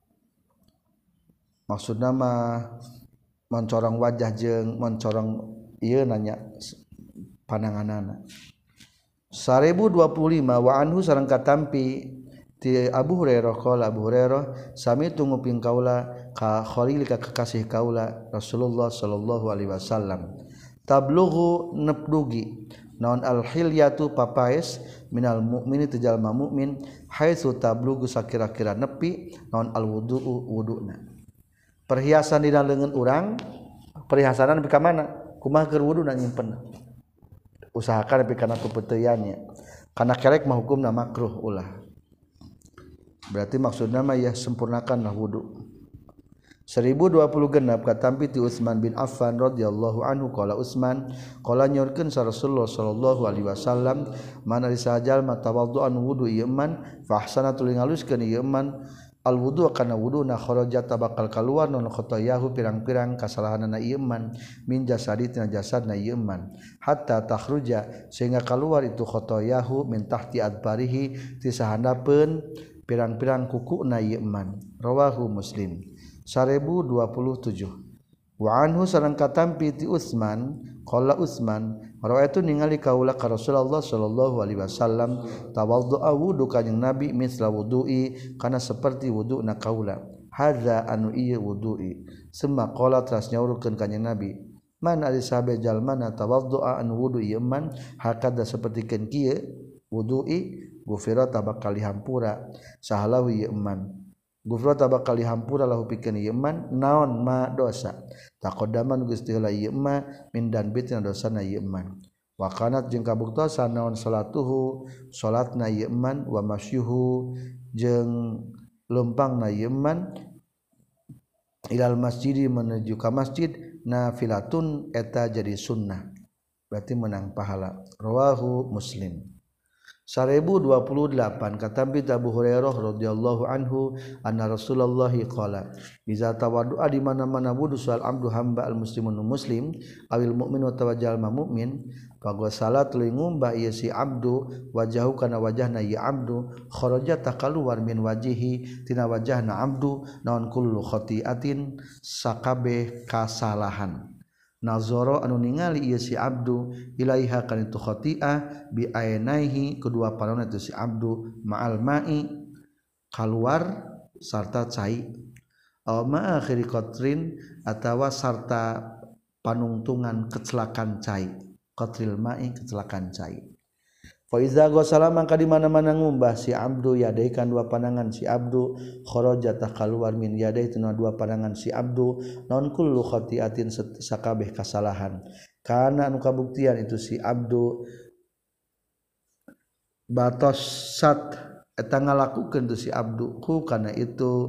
Maksudna mah moncorong wajah jeung moncorong ieu nanya pananganana. seribu dua puluh lima wa anhu sareng katampi ti Abu Hurairah qala Abu Hurairah sami tu nguping kaula ka khalil ka kekasih kaula Rasulullah sallallahu alaihi wasallam tablughu nepdugi naon al-hilyatu papaes minal mukmini tu jalma mukmin haitsu tablughu sakira-kira nepi naon al-wudu'u wuduna. Perhiasan dina leungeun urang perhiasanan nepi ka mana kumaha keur wuduna nyimpen usahakan nepi kana pepeuteyannya kana kerek mah hukumna makruh ulah. Berarti maksudna mah ya sempurnakanlah wudu. seribu dua puluh genap katampi ti Utsman bin Affan radhiyallahu anhu qala Utsman qala nyorkeun sa Rasulullah sallallahu alaihi wasallam mana risajal matawaddu'an wudu ieu man fa ahsana tuluy ngaluskeun ieu man al wudu kana wuduna kharajat bakal kaluar non khotoyahu pirang-pirang kasalahanna ieu man min jasadi tina jasadna ieu man hatta takhruja sehingga keluar itu khotoyahu min tahti adbarihi ti sahandapeun pirang-pirang kukuna ieu man rawahu Muslim. seribu dua puluh tujuh wa anhu sareng katampi ti Utsman qala Utsman rawaitu ningali kaula ka Rasulullah sallallahu alaihi wasallam tawaddu'a wudu kanjing Nabi misla wudu'i kana seperti wudu'na kaula hadza anu ieu wudu'i summa qala teras nyaurkeun kanjing Nabi man ari sahabe jalmana tawaddu'a anu wudu ieu man hakada sapertikeun kieu wudu'i gufira tabakal dihampura sahalahu ieu man gufra tabakal dihampura lahu pikeun ieu man naon ma dosa taqaddaman geus teu ieu ma min dan bitina dosana ieu man wa kanat jeung kabuktosan naon salatuhu salatna ieu man wa masyuhu jeung leumpangna ieu man ilal masjidi menuju ka masjid nafilatun eta jadi sunnah berarti menang pahala rawahu Muslim. seribu dua puluh delapan kata bi Abu Hurairah radhiyallahu anhu anna Rasulullah qala iza tawaddu'a di mana-mana wudu sal abdu hamba al muslimun muslim awil mukminu tawajjal mukmin fa salat tuluy ngumbah ieu si abdu wajahu kana wajahna ya abdu kharaja takaluar min wajihi tina wajahna abdu naon kullu khati'atin sakabeh kasalahan nazara anu ningali ieu si abdu ilaiha kana itu khati'ah bi ainaihi kedua panonna itu si abdu ma'al ma'i kaluar sarta cai aw ma akhiri qatrin atawa sarta panungtungan kecelakaan cai qatril ma'i kecelakaan cai fa iza ghasala mangka di mana-mana ngumbah si abdu yadaikan dua pandangan si abdu kharaja takaluar min yadai tuna dua pandangan si abdu non kullu khati'atin sakabeh kasalahan kana anu kabuktian itu si abdu batosat eta ngalakukeun tu si abdu ku kana itu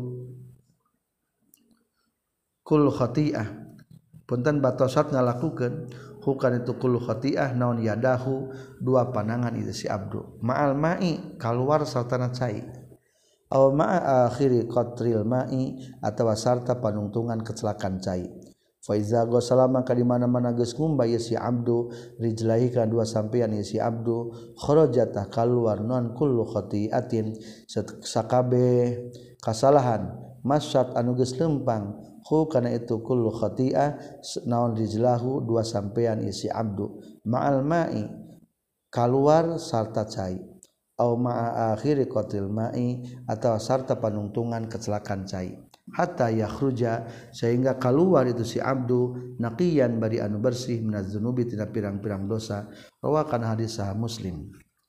kullu khati'ah punten batosat ngalakukeun hukan itu kullu khati'ah naon yadahu dua pandangan itu si abdu ma'al ma'i kaluar sartana cai aw ma'a akhiri qatril ma'i atawa sarta panungtungan kecelakaan cai fa iza ghasala maka di mana-mana geus ngumbah ieu si abdu rijlahi ka dua sampean ieu si abdu kharajata kaluar non kullu khati'atin sakabe kasalahan masyat anu geus lempang hu kana itu kullu khati'ah naon rijlahu dua sampean isi abdu ma'al ma'i kaluar sarta cai au ma'a akhiri qatil ma'i atawa sarta panungtungan kecelakaan cai hatta yakhruja sehingga keluar itu si abdu naqiyan bari anu bersih minaz dzunubi tina pirang-pirang dosa rawakan hadis sahih Muslim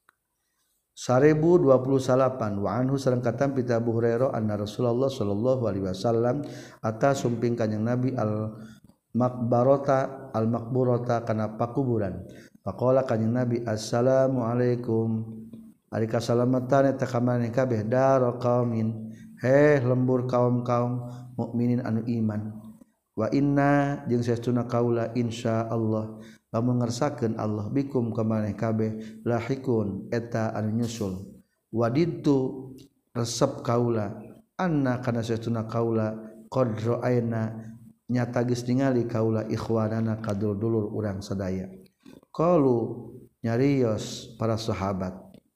seribu dua puluh delapan wa anhu sareng katam pita Abu Hurairah anna Rasulullah sallallahu alaihi wasallam ata sumping kanjing Nabi al makbarata al makburata kana pakuburan faqala kanjing Nabi assalamu alaikum ari kasalamatan eta kamane kabeh dar qaumin heh lembur kaum-kaum mukminin anu iman wa inna jeung saestuna kaula insyaallah lamun ngersakeun Allah bikum ka maneh kabeh lahikun eta anu nyusul wadidtu resep kaula anna kana saestuna kaula qad ra'aina nyata geus ningali kaula ikhwanana kadul-dulur urang sadaya qalu nyarios para sahabat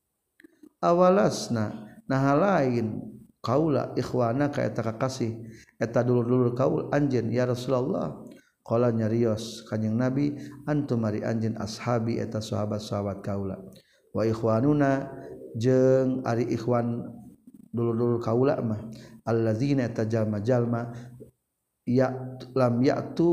awalasna nah lain kaula ikhwana ka eta kakasih eta dulur-dulur kaul anjeun ya Rasulullah qala nyarios kanjing Nabi antum ari anjeun ashabi eta sahabat-sahabat kaula wa ikhwanuna jeung ari ikhwan dulur-dulur kaula mah allazina tajalma-jalma ya lam ya'tu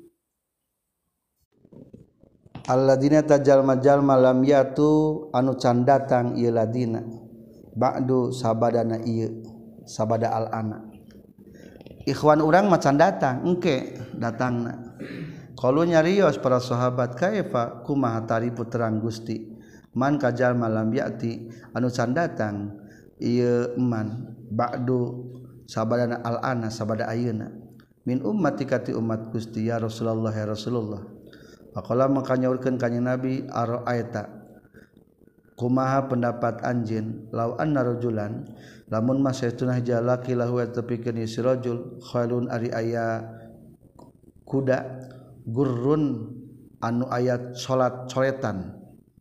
alladzina tajalma-jalma lam ya'tu anu can datang ieu ladina ba'du sabadana ieu sabada al ana ikhwan urang macan datang engke datangna qalu nyarios para sahabat kaifa kumaha tarifu terang Gusti man kajal malam yati anu can datang ieu man ba'du sabadana al ana sabada ayeuna min ummati kati umat Gusti ya Rasulullah ya Rasulullah faqala maka nyaurkeun kanjing Nabi ara'aita kumaha pendapat anjeun law anna rajulan lamun mah saestuna jalaki lahu tepikeun si rajul khailun ari aya kuda gurrun anu aya salat coretan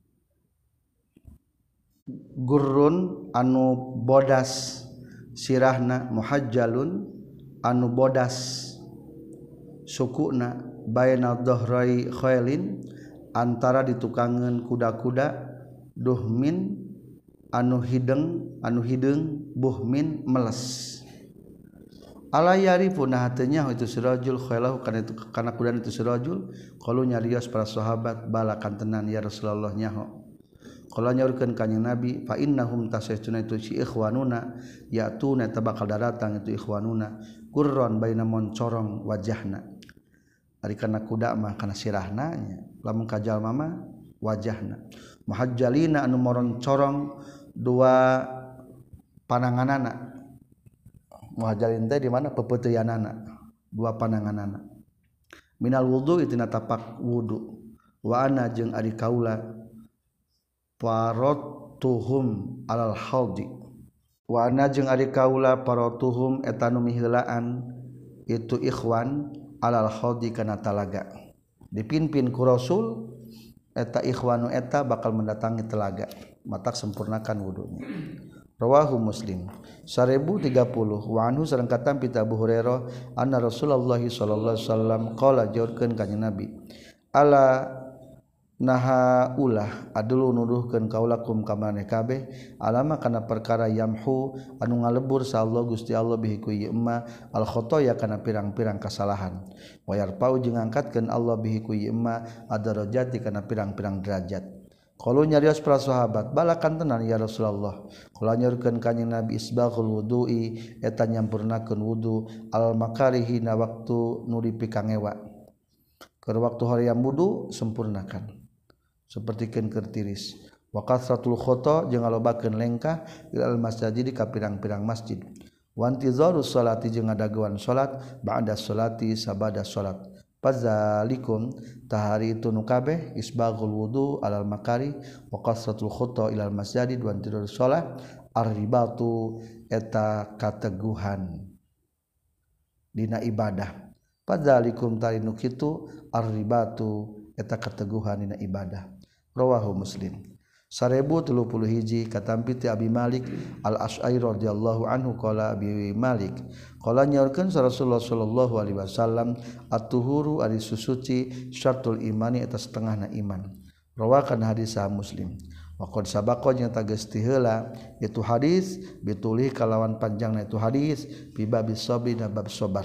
gurrun anu bodas sirahna muhajjalun anu bodas sukuna baina dhahrai khailin antara ditukangeun kuda-kuda duhmin anu hideng anu hideung buhmin meles ala yarifuna hatenya itu sirajul khailahu kana itu kana kuda itu sirajul qalu nyarios para sahabat balakan tenan ya Rasulullah nyaho qala nyaurkeun kanjing Nabi fa innahum tasaytuna itu si ikhwanuna yatuna tabakal datang itu ikhwanuna qurran baina moncorong wajahna ari kana kuda mah kana sirahna nya lamun ka jalma mah wajahna muhajjalina anu moron corong dua pananganana muhajjalin teh di mana pepeuteyanana dua pananganana minal wudu itina tapak wudu wa ana jeung ari kaula parot tuhum alal haldi wa ana jeung ari kaula tuhum eta nu miheulaan itu ikhwan alal haldi kana talaga dipimpin ku Rasul eta ikhwanu eta bakal mendatangi telaga matak sempurnakan wudunya. Rawahu Muslim seribu tiga puluh wa anhu sareng katampi Abu Hurairah anna Rasulullah sallallahu alaihi wasallam qala jaurkeun ka Nabi ala naha ulah adulu nuduhkeun kaulakum ka maneh kabeh alama kana perkara yamhu anu ngalebur sa Allah Gusti Allah bihi ku ieu emma al khotoya kana pirang-pirang kasalahan wa yarpau jeung ngangkatkeun Allah bihi ku ieu emma adarajati kana pirang-pirang derajat. Kalau nyarios para sahabat balakan tenan ya Rasulullah. Kalau nyurkeun kanjing Nabi isbaghul wudu'i eta nyampurnakeun wudu al makarihi na waktu nu dipikangewa. Keur waktu hoream wudu sempurnakan. Sapertikeun keur tiris. Wa kasratul khata jeung ngalobakeun lengkah ilal masjid ka pirang-pirang masjid. Wa intizarus salati jeung ngadaguan salat ba'da salati sabada salat. Fadzalikum tahari itu nu kabeh isbaghul wudu alal makari wa qasratul khutta ilal masjid wa intidur shalah ar-ribatu eta kateguhan dina ibadah. Fadzalikum tahari nu kitu ar-ribatu eta kateguhan dina ibadah. Rawahu Muslim. seribu tiga puluh satu katampi ti Abi Malik Al-Asy'ari radhiyallahu anhu qala Abi Malik qala nyaurkeun Rasulullah sallallahu alaihi wasallam at-tuhuru ari susuci syartul imani eta setengahna iman. Rawakan hadis sah Muslim. Wa qad sabaqa nya tageus ti heula itu hadis bitulih kalawan panjangna itu hadis fi babis sabri na bab sabar.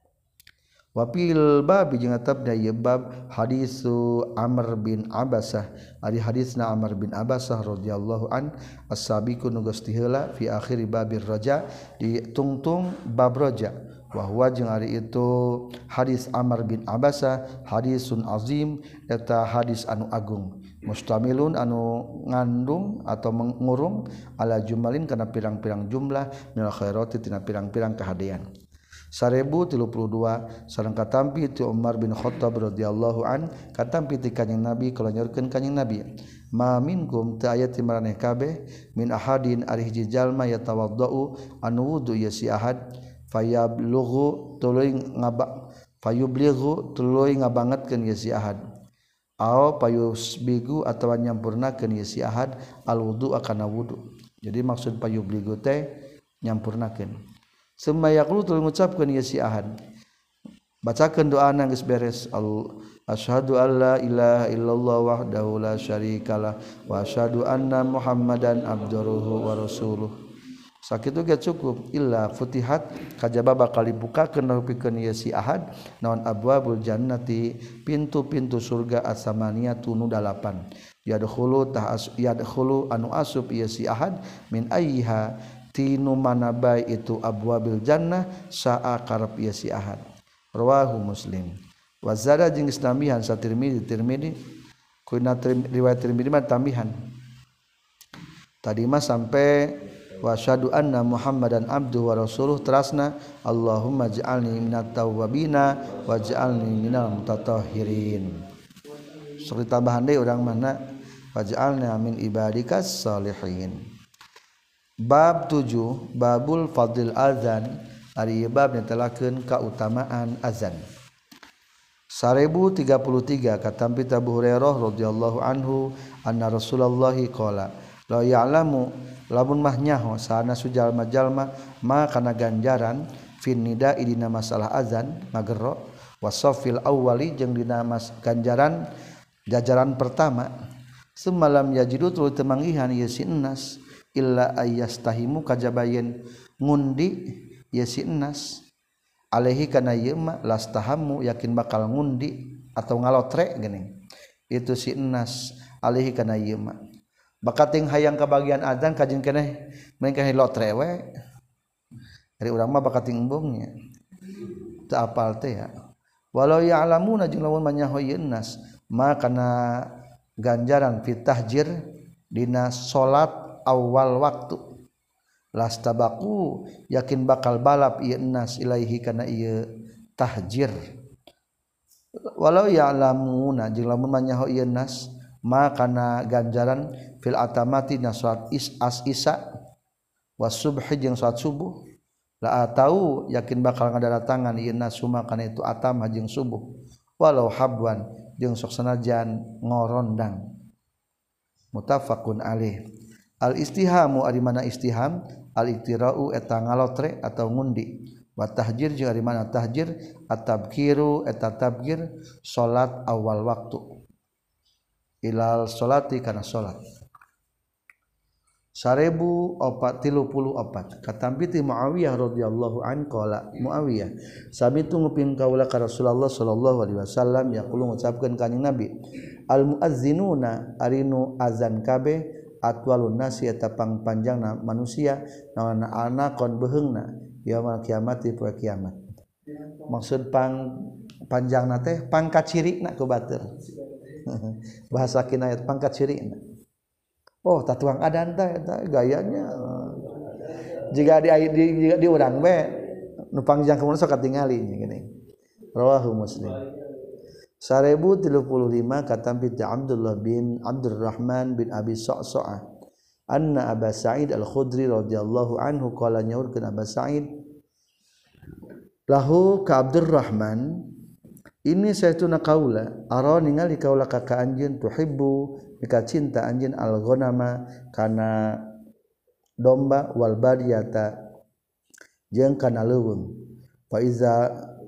Wa fil bab jeung tabda ieu bab hadisu Amr bin Abasah ari hadisna Amr bin Abasah radhiyallahu an as-sabiqu nu geus ti heula fi akhir babir raja di tungtung bab raja wa huwa jeung ari itu hadis Amr bin Abasah hadisun azim eta hadis anu agung mustamilun anu ngandung atau mengurung ala jumalin kana pirang-pirang jumlah minal khairati tina pirang-pirang kahadean. seribu tiga puluh dua sareng katampi ti Umar bin Khattab radhiyallahu an katampi ti kanjing Nabi kala nyorkeun kanjing Nabi ma minkum ta aya ti maraneh kabeh min ahadin ari hiji jalma yatawaddau anu wudu ya si ahad fayablughu tuluy ngaba fayublighu tuluy ngabangetkeun ya si ahad aw payusbigu atawa nyampurnakeun ya si ahad al wudu akana wudu. Jadi maksud payublighu teh nyampurnakeun. Summa yaqulu tuluy ngucapkeun ya si ahad. Bacakeun doana geus beres. Asyhadu alla ilaha illallah wahdahu la syarikalah wa asyhadu anna Muhammadan abduhu wa rasuluh. Sakitu ge cukup illa futihat kajaba bakal dibukakeun pikeun ya si ahad naon abwabul jannati pintu-pintu surga as-samaniyatu nu dalapan. Yadkhulu ta'as yadkhulu anu asub ya si ahad min ayyiha tinu mana bae itu abwabil jannah saa karep ieu si ahad. Rawahu Muslim. Wa zada jeung tambihan sa Tirmizi Tirmizi kuna riwayat Tirmizi mah tambihan. Tadi mah sampai wa syadu anna Muhammadan abduhu wa rasuluh terasna Allahumma ij'alni minat tawwabina waj'alni minal mutatahhirin. Sok ditambahan deui urang mana waj'alna min ibadikas salihin. Bab tujuh babul fadil azan ari bab netelakeun kautamaan azan. seribu tiga puluh tiga katampi Abu Hurairah radhiyallahu anhu anna Rasulullah qala la ya'lamu lamun mah nyaho sana sujalma-jalma ma kana ganjaran fin nida'i dina masalah azan magerro wasafil awwali jeung dina mas ganjaran jajaran pertama semalam yajidu tuluy teu manggihan ieu si ennas illa ayyastahimu kajabayen ngundi ya si ennas alaihi kana ieu mah lastahamu yakin bakal ngundi atau ngalotre geuning itu si ennas alaihi kana ieu mah bakating hayang ka bagian adzan kajeng keneh mending ka lotre we ari urang mah bakating embungnya teu apal teh ya walau ya'lamuna jeung lamun manyaho ieu ennas ma kana ganjaran fit tahjir dina salat awal waktu lastabaku yakin bakal balap ieu ennas ilaihi kana ieu tahjir walau ya'lamuna jeung lamun manyaho ieu ennas ma kana ganjaran fil atamati na salat is as isa was subhi jeung salat subuh la atau yakin bakal ngadatangan ieu nasuma kana itu atama jeung subuh walau habwan jeung sok sanajan ngorondang muttafaqun alaih. Al istihamu ari mana istiham al iktirau eta ngalotre atau ngundi wa tahjir jeung ari mana tahjir at-tabkiru eta tabkir salat awal waktu ilal salati kana salat seribu opat tilu puluh opat katampi ti Muawiyah radhiyallahu an qala Muawiyah sabitu nguping kaula ka Rasulullah sallallahu alaihi wasallam yaqulu ngucapkeun kanjing Nabi al muazzinuna arinu azan kabeh atwalun nasi eta pangpanjangna manusia nawana anakon beheungna yaumul kiamati poe kiamat maksud pang panjangna teh pangkat cirina ku batur bahasa kinayat pangkat cirina oh tatuang adan teh eta gayanya jika di di jika di urang we nu pangjang kemudian sok katingali gini rawahu Muslim. Seribu tiga puluh lima katampi Abdullah bin Abdurrahman bin Abi Sa'sa'ah anna Aba Sa'id Al-Khudri radhiyallahu anhu qala nyaurkeun Aba Sa'id lahu ka Abdurrahman ini saytuna kaula ara ningali kaula ka ka anjeun tuhibbu mika cinta anjeun al-ghanama kana domba wal badiyata jeung kana leuweung fa iza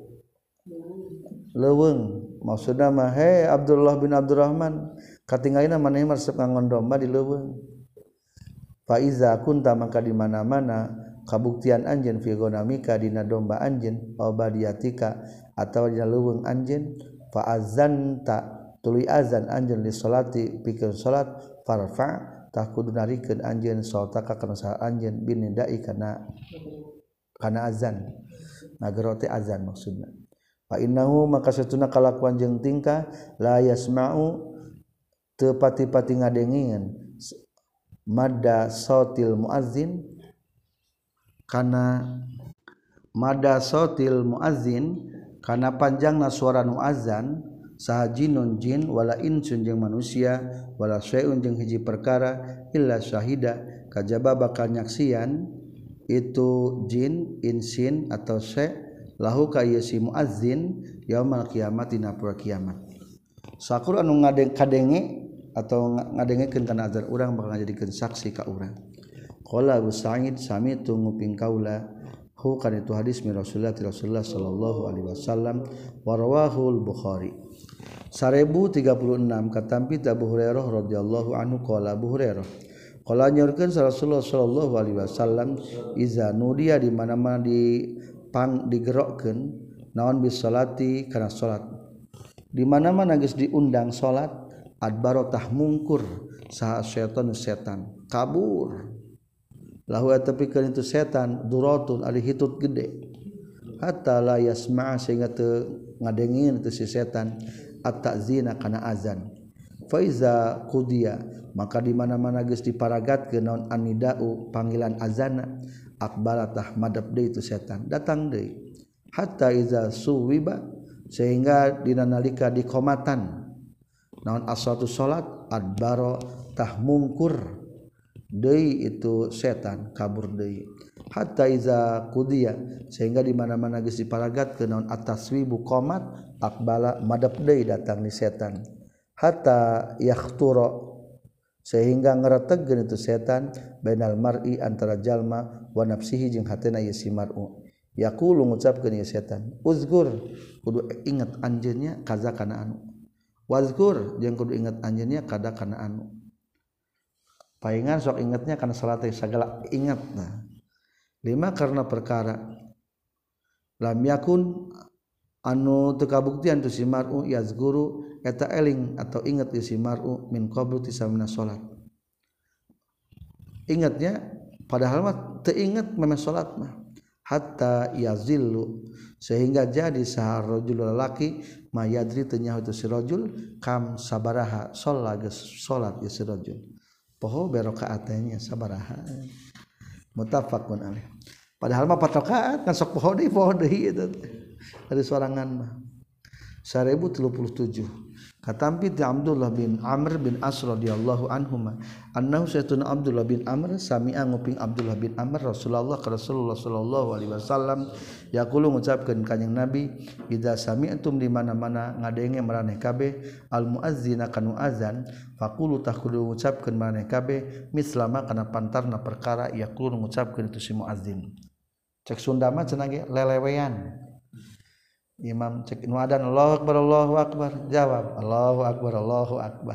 leuweung maksudna mah he Abdullah bin Abdurrahman katinggalina maneh resep ngangon domba di leuweung fa iza kunta maka di mana-mana kabuktian anjeun fi ghanamika dina domba anjeun aw badiyatika atawa dina leuweung anjeun fa azanta tuluy azan anjeun li salati pikeun salat farfa tah kudu narikeun anjeun salataka kana saha anjeun binidai kana kana azan nagero teh azan maksudna fa innahu maka satuna kalakuan jeung tingkah la yasma'u teu pati-pati ngadengieun madda sautil muazzin kana madda sautil muazzin kana panjangna suara nu azan saha jinun jin wala insun jeung manusia wala syai'un jeung hiji perkara illa syahida kajaba bakal nyaksian itu jin insin atau syai' lahu ka ieu si muazzin yaumul kiamat dina poe kiamat sakur anu ngadeng kadenge atau ngadengekeun kana azan urang bakal ngajadikeun saksi ka urang qala Abu Sa'id sami tu nguping kaula hu kana itu hadis mi Rasulullah Rasulullah sallallahu alaihi wasallam wa rawahu al-Bukhari. Seribu tiga puluh enam katampi Abu Hurairah radhiyallahu anhu qala Abu Hurairah qala nyorkeun Rasulullah sallallahu alaihi wasallam iza nudiya di mana-mana di pang digerokkeun naon bis salati kana salat di mana-mana geus diundang salat adbaro tah mungkur saha setan setan kabur lahu atapikeun itu setan duratun ari hitut gede hatta la yasma'a sehingga teu ngadengieun itu si setan at-ta'zina kana azan fa iza qudiya maka di mana-mana geus diparagatkeun naon anidau panggilan azana akbalatah madab deui itu setan datang deui hatta iza suwiba sehingga dina nalika dikomatan naon as-salatu salat adbaro tah mungkur deui itu setan kabur deui hatta iza qudiya sehingga di mana-mana geus diparagatkeun naon at-taswibu qomat aqbala madap deui datang ni setan hatta yakhtura sehingga ngarategkeun itu setan bainal mar'i antara jalma wa nafsihi jeung hatena ieu si mar'u yaqulu ngucapkeun ieu setan uzkur kudu ingat anjeunnya kaza kana anu wazkur jeung kudu ingat anjeunnya kada kana anu paingan sok ingatnya kana salat sagala ingat nah lima karena perkara lam yakun anu teu kabuktian tu si mar'u yazguru eta eling atau ingat si mar'u min qablu tisamna salat ingatnya padahal mah teu ingat memang salat mah hatta yazillu sehingga jadi sahar rajul lalaki mayadri teu nyaho tu si rajul kam sabaraha sholat geus salat geus si rajul poho berokaat nya sabaraha muttafaqun alaih padahal mah empat rakaat kan sok poho deui poho deui eta dari sorangan mah seribu tiga puluh tujuh katampi ti Abdullah bin Amr bin As radhiyallahu anhuma annahu sayyiduna Abdullah bin Amr sami'a nguping Abdullah bin Amr Rasulullah ka Rasulullah sallallahu alaihi wasallam yaqulu ngucapkeun kanjing Nabi idza sami'tum di mana-mana ngadenge maraneh kabeh al muazzina kanu azan faqulu takhulu ngucapkeun maraneh kabeh mislama kana pantarna perkara yaqulu ngucapkeun itu si muazzin cek Sunda mah cenah ge lelewean imam cek nu adzan Allahu akbar Allahu akbar jawab Allahu akbar Allahu akbar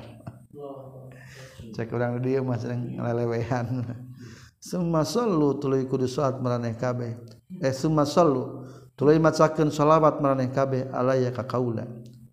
cek urang dieu mah sering lelewehan summa sallu tuluy kudu salat maraneh kabeh eh summa sallu tuluy macakeun shalawat maraneh kabeh alayya ka kaula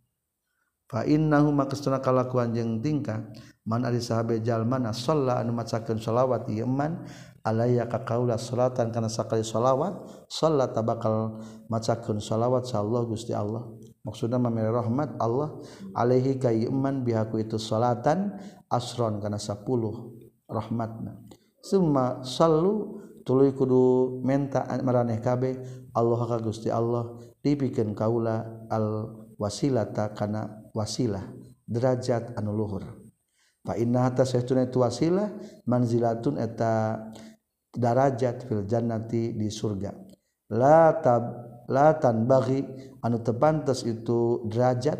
fa innahu makastuna kalakuan jeung tingkah man ari sahabe jalmana shalla anu macakeun shalawat ieu man alayya ka kaula salatan kana sakali shalawat shalla tabakal macakeun shalawat sa Allah Gusti Allah maksudna mamere rahmat Allah alaihi ka iman bihaku itu salatan asron kana sepuluh rahmatna summa sallu tuluy kudu menta maraneh kabeh Allah ka Gusti Allah dipikeun kaula al wasilata kana wasilah derajat anu luhur fa inna hatta saytuna itu wasilah manzilatun eta darajat fil jannati di surga la tab la tanbaghi anu tepantes itu derajat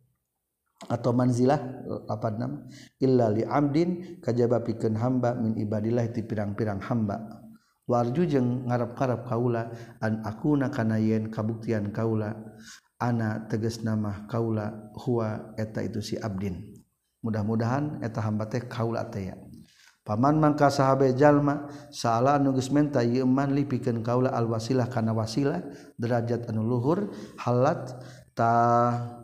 atau manzilah apa nama illa li amdin kajaba pikeun hamba min ibadillah ti pirang-pirang hamba warju jeung ngarep-ngarep kaula an akuna kana yen kabuktian kaula ana tegasna mah kaula huwa eta itu si abdin mudah-mudahan eta hamba teh kaula teh ya paman mangka sahabe jalma saala anu geus menta ieu man lipikeun kaula al wasilah kana wasilah derajat anu luhur halat tah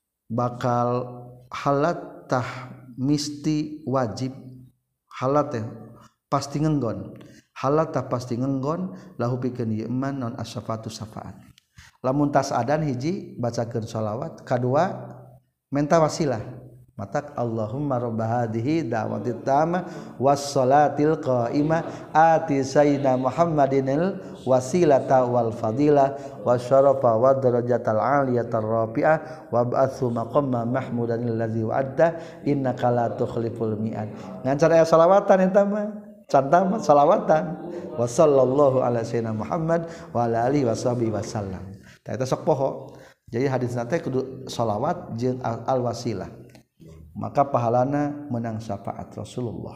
bakal halat tah misti wajib halat teh pasti ngenggon halat tah pasti ngenggon lahu pikeun ieu man non asyafaatu syafaat lamun tas adan hiji bacakeun shalawat kadua menta wasilah matak Allahumma rabb hadhihi da'watit tamah was salatil qa'imah ati sayyidina Muhammadinil wasilata wal fadilah wasyarafa wad darajatal aliyatar rafi'ah wa ba'atsu maqamma mahmudanil ladzi wa'adta innaka la tukhliful mi'ad ngan cara salawatan eta mah cantang mah salawatan wa sallallahu ala sayyidina Muhammad wa ala alihi washabihi wasallam tah eta sok poho jadi hadisna teh kudu salawat jeung al wasilah maka pahalana menang syafaat Rasulullah.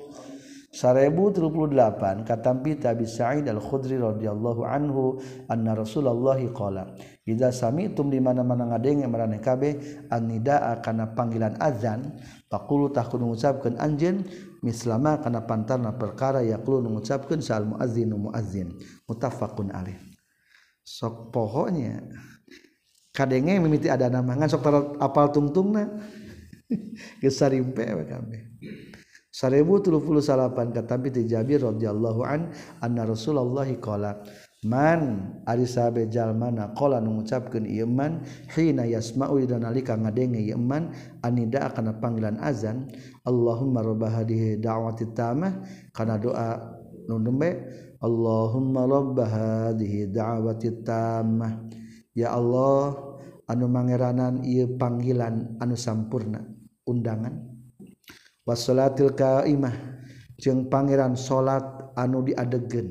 seribu tiga puluh delapan katampi Abi Sa'id Al-Khudri radhiyallahu anhu anna Rasulullah qala idza sami'tum di mana-mana ngadenge maraneh kabeh an-nidaa kana panggilan azan faqulu takun ngucapkeun anjeun mislama kana pantarna perkara yaqulu ngucapkeun sal muazzinu muazzin muttafaqun alaih sok pohonya kadenge mimiti ada nama ngan sok apal tungtungna gesarimpe we kabeh seribu tiga puluh delapan katampi ti Jabir radhiyallahu an anna Rasulullah qala man ari sahabe jalmana qala nu ngucapkeun ieu man hina yasma'u dan nalika ngadenge ieu man anida kana panggilan azan Allahumma rabb hadhihi da'watit tamah kana doa nu nembe Allahumma rabb hadhihi da'watit tamah ya Allah anu mangeranan ieu panggilan anu sampurna undangan wassalatil qaimah jeung pangeran salat anu diadegeun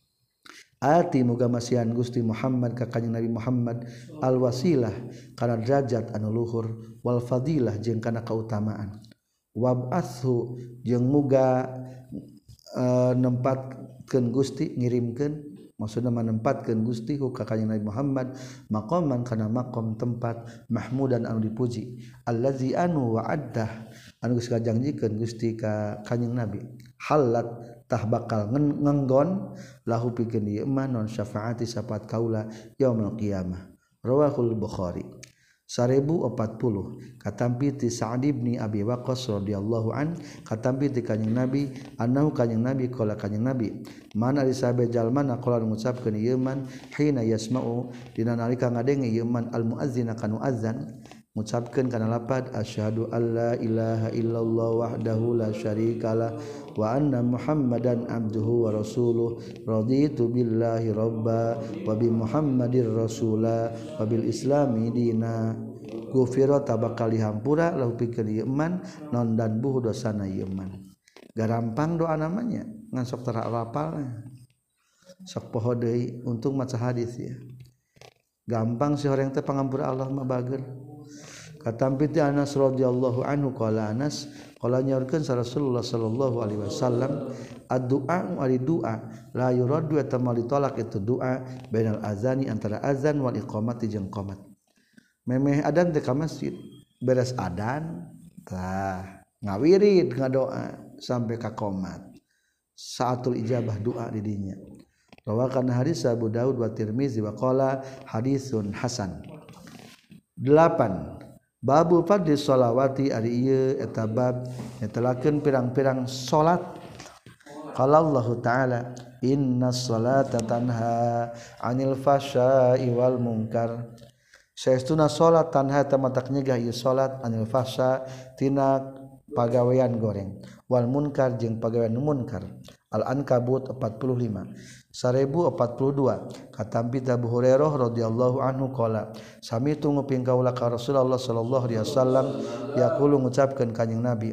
ati muga masihan Gusti Muhammad ka kanjeng Nabi Muhammad al wasilah kana derajat anu luhur wal fadilah jeung kana kautamaan wab'athu jeung muga uh, nempatkeun Gusti ngirimkeun maksudna manempatkeun Gusti ka kanjeng Nabi Muhammad maqaman kana maqam tempat mahmudan anu dipuji allazi anu wa'addah anu geus kajangjikeun Gusti ka kanjeng Nabi halat tah bakal ngenggon lahu pikeun ieu mah non syafaati syafaat kaula yaumul qiyamah rawahul Bukhari seribu empat puluh katampi ti Sa'd bin Abi Waqqas radhiyallahu an katampi ti kanjeng Nabi annahu kanjeng Nabi qala kanjeng Nabi mana ari sahabe jalmana qala ngucapkeun ieu man hina yasma'u dina nalika ngadenge ieu man al muazzina kanu azan ngucapkeun kana lapad asyhadu alla ilaha illallah wahdahu la syarikalah wa anna muhammadan abduhu wa rasuluh raditu billahi robba wa bi muhammadir rasula wa bil islami dina gufiro tabakal dihampura lahu pikeun ieu eman non dan buh dosana ieu eman garampang doa namanya ngan sok tara rapalna sok poho deui untung maca hadis ya gampang si horeng teh pangampura Allah mah bager katampi ti Anas radhiyallahu anhu qala Anas qala nyaurkeun sa Rasulullah sallallahu alaihi wasallam ad-du'a ari doa la yuraddu eta mali tolak itu doa bainal azani antara azan wal iqamati jeung qomat memeh adan teh ka masjid beres adan tah ngawirid ngadoa sampai ka qomat saatul ijabah doa di dinya rawakan hadis Abu Daud wa Tirmizi wa qala hadisun hasan delapan Babu fadli sholawati ari ieu eta bab netelakeun pirang-pirang salat. Qala Allah Ta'ala innas sholata tanha 'anil fahsya'i wal munkar. Saestuna salat tanha eta matak nyegah ieu salat 'anil fahsya tina pagawean goreng wal munkar jeung pagawean munkar. Al-Ankabut empat puluh lima seribu empat puluh dua katampi Abu Hurairah radhiyallahu anhu qala sami tu nguping kaula ka Rasulullah sallallahu alaihi wasallam yaqulu ngucapkeun kanjing Nabi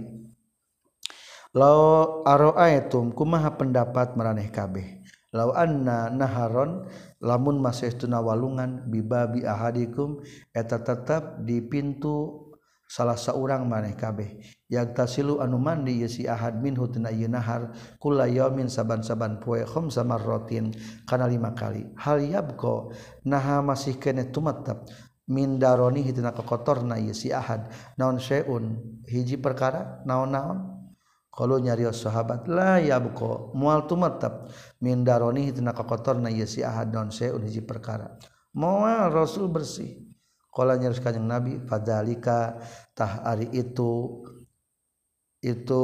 law ara'aitum kumaha pendapat maraneh kabeh law anna naharon lamun masestuna walungan bibabi ahadikum eta tetep di pintu salah seorang maneh kabeh yang tasilu anu mandi ieu si ahad minhu tina ieu nahar kullayamin saban-saban poe khamsa marratin kana lima kali hal yabqa naha masih keneh tumattap min daroni tina kokotorna ieu si ahad naon syai'un hiji perkara naon-naon qalu nyarios sahabat la yabqa moal tumattap min daroni tina kokotorna ieu si ahad naon syai'un hiji perkara moal Rasul bersih. Qala nyarus kanjing Nabi fadzalika tah ari itu itu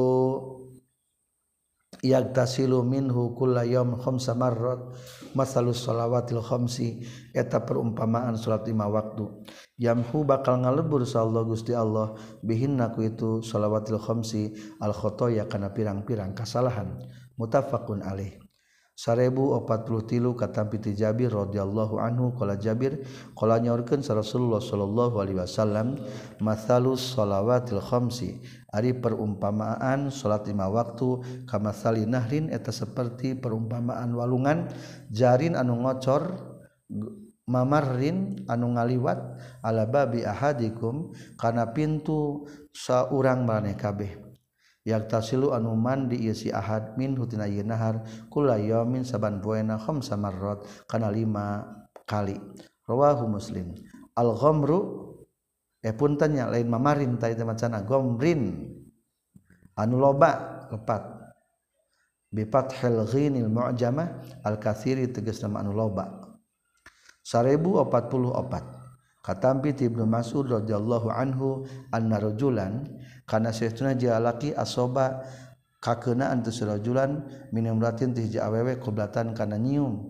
yagtasilu minhu kullayam khamsa marrat masalus shalawatil khamsi eta perumpamaan salat lima waktu yamhu bakal ngalebur sallallahu Gusti Allah bihinna ku itu shalawatil khamsi al khotoya kana pirang-pirang kasalahan muttafaqun alaih seribu empat puluh tilu katampi ti Jabir radhiyallahu anhu qala Jabir qala nyaurkeun sa Rasulullah sallallahu alaihi wasallam matsalus shalawatil khamsi ari perumpamaan salat lima waktu kamatsali nahrin eta seperti perumpamaan walungan jarin anu ngocor mamarrin anu ngaliwat ala babi ahadikum kana pintu saurang maneh kabeh yaktasilu anu mandi ieu si ahad minhu tina ieu nahar kullayamin saban poena khamsa marrat kana lima kali rawahu Muslim al ghamru eh punten nya lain mamarin ta itu macana ghamrin anu loba lepat bi fathil ghinil mu'jamah al katsiri tegasna anu loba seribu empat puluh empat katampi ti Ibnu Mas'ud radhiyallahu anhu anna rajulan kana saestuna jalaki asoba kakeunaan tu rajulan minum ratin ti hiji awewe qoblatan kana nyium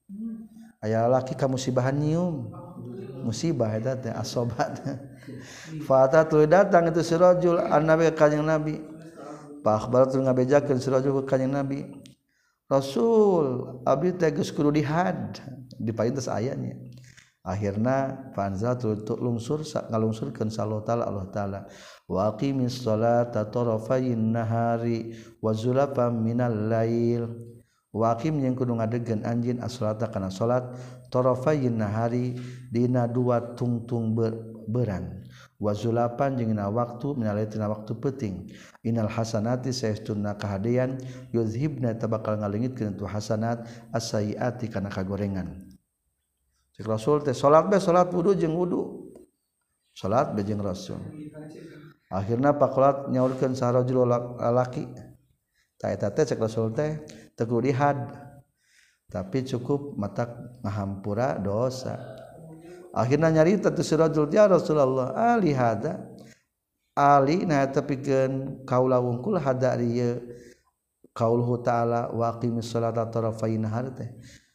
aya lalaki ka musibahan nyium musibah eta teh asoba fa tu datang itu si rajul annabi ka kanjing Nabi pa akhbar tu ngabejakeun si rajul ka kanjing Nabi Rasul abdi teh geus kudu dihad dipaintes ayanya akhirna fanza tu lungsur ngalungsurkeun sallallahu taala Allah taala wa aqimis sholata tarafayn nahari wa zulafam minal lail wa aqim yang kudu ngadegkeun anjeun as-sholata kana salat tarafayn nahari dina dua tungtung beurang wa zulapan jeung dina waktu minal lail tina waktu peuting innal hasanati saestuna kahadean yuzhibna tabakal ngalengitkeun tu hasanat as-sayyiati kana kagorengan cek Rasul teh salat be salat wudu jeung wudu salat be jeung Rasul akhirna pakolat nyaurkeun sarajul lalaki ta eta teh cek Rasul teh teu kudu dihad tapi cukup matak ngahampura dosa akhirna nyarita tu sarajul ya Rasulullah ali hada ali na eta pikeun kaula wungkul hada ieu qauluhu ta'ala wa aqimis sholata tarafayn nahar teh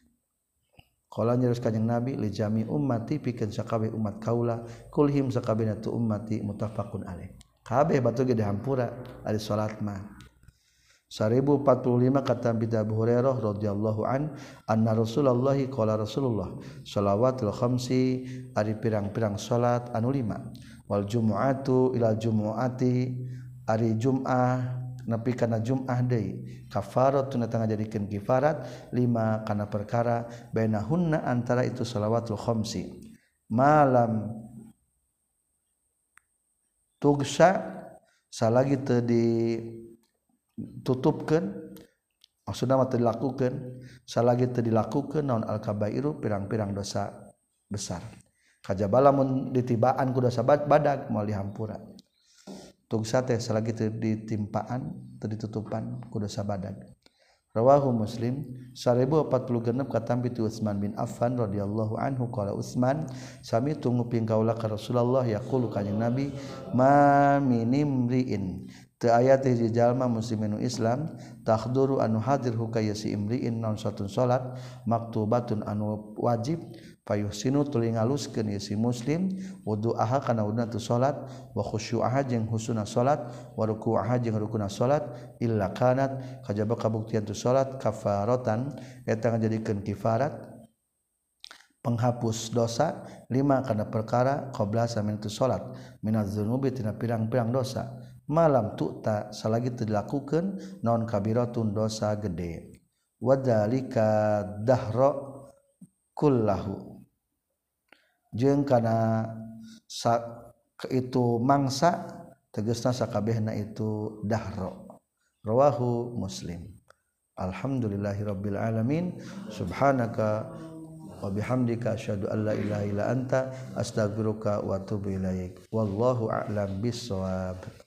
qala nyarus kanjing Nabi li jami ummati pikeun sakabeh umat kaula kulhim sakabehna tu ummati muttafaqun alaih kabeh batu ge dihampura ari salat mah seribu empat puluh lima kata Abi Hurairah radhiyallahu an anna Rasulullah qala Rasulullah shalawatul khamsi ari pirang-pirang salat anu lima wal jumu'atu ila jumu'ati ari jum'ah nepi kana jum'ah deui kafaratun tangga jadikeun kifarat lima kana perkara bainahunna antara itu shalawatul khamsi malam tugsa salagi teu di tutupkeun maksudna mah teu dilakukeun salagi teu dilakukeun naon al-kabairu pirang-pirang dosa besar kajaba lamun ditibaan ku dosa badag moal dihampura tugsa teh salagi teu ditimpaan teu ditutupan ku dosa badag rawahu Muslim seribu empat puluh genep katampi tu Utsman bin Affan radhiyallahu anhu qala Utsman sami tunguping kaula ka Rasulullah yaqulu kanjing Nabi ma minimriin teu aya teh hiji jalma muslimin Islam tahduru anu hadir hukaya si imriin naon satun salat maktubatun anu wajib fayuhsinu tuluy ngaluskeun si muslim wudu'aha kana wuduna tu salat wa khusyu'aha jeung husuna salat wa ruku'aha jeung rukuna salat illa kanat kajaba kabuktian tu salat kafaratan eta ngajadikeun kifarat penghapus dosa lima kana perkara qabla samin tu salat minaz dzunubi tina pirang-pirang dosa malam tu'ta salagi teu dilakukeun naon kabiratun dosa gede wadzalika dahra kullahu jeung kana itu mangsa tegasna sakabehna itu dahra rawahu Muslim alhamdulillahirabbil alamin subhanaka wa bihamdika asyhadu an la ilaha illa anta astaghfiruka wa atubu ilaik wallahu a'lam bissawab.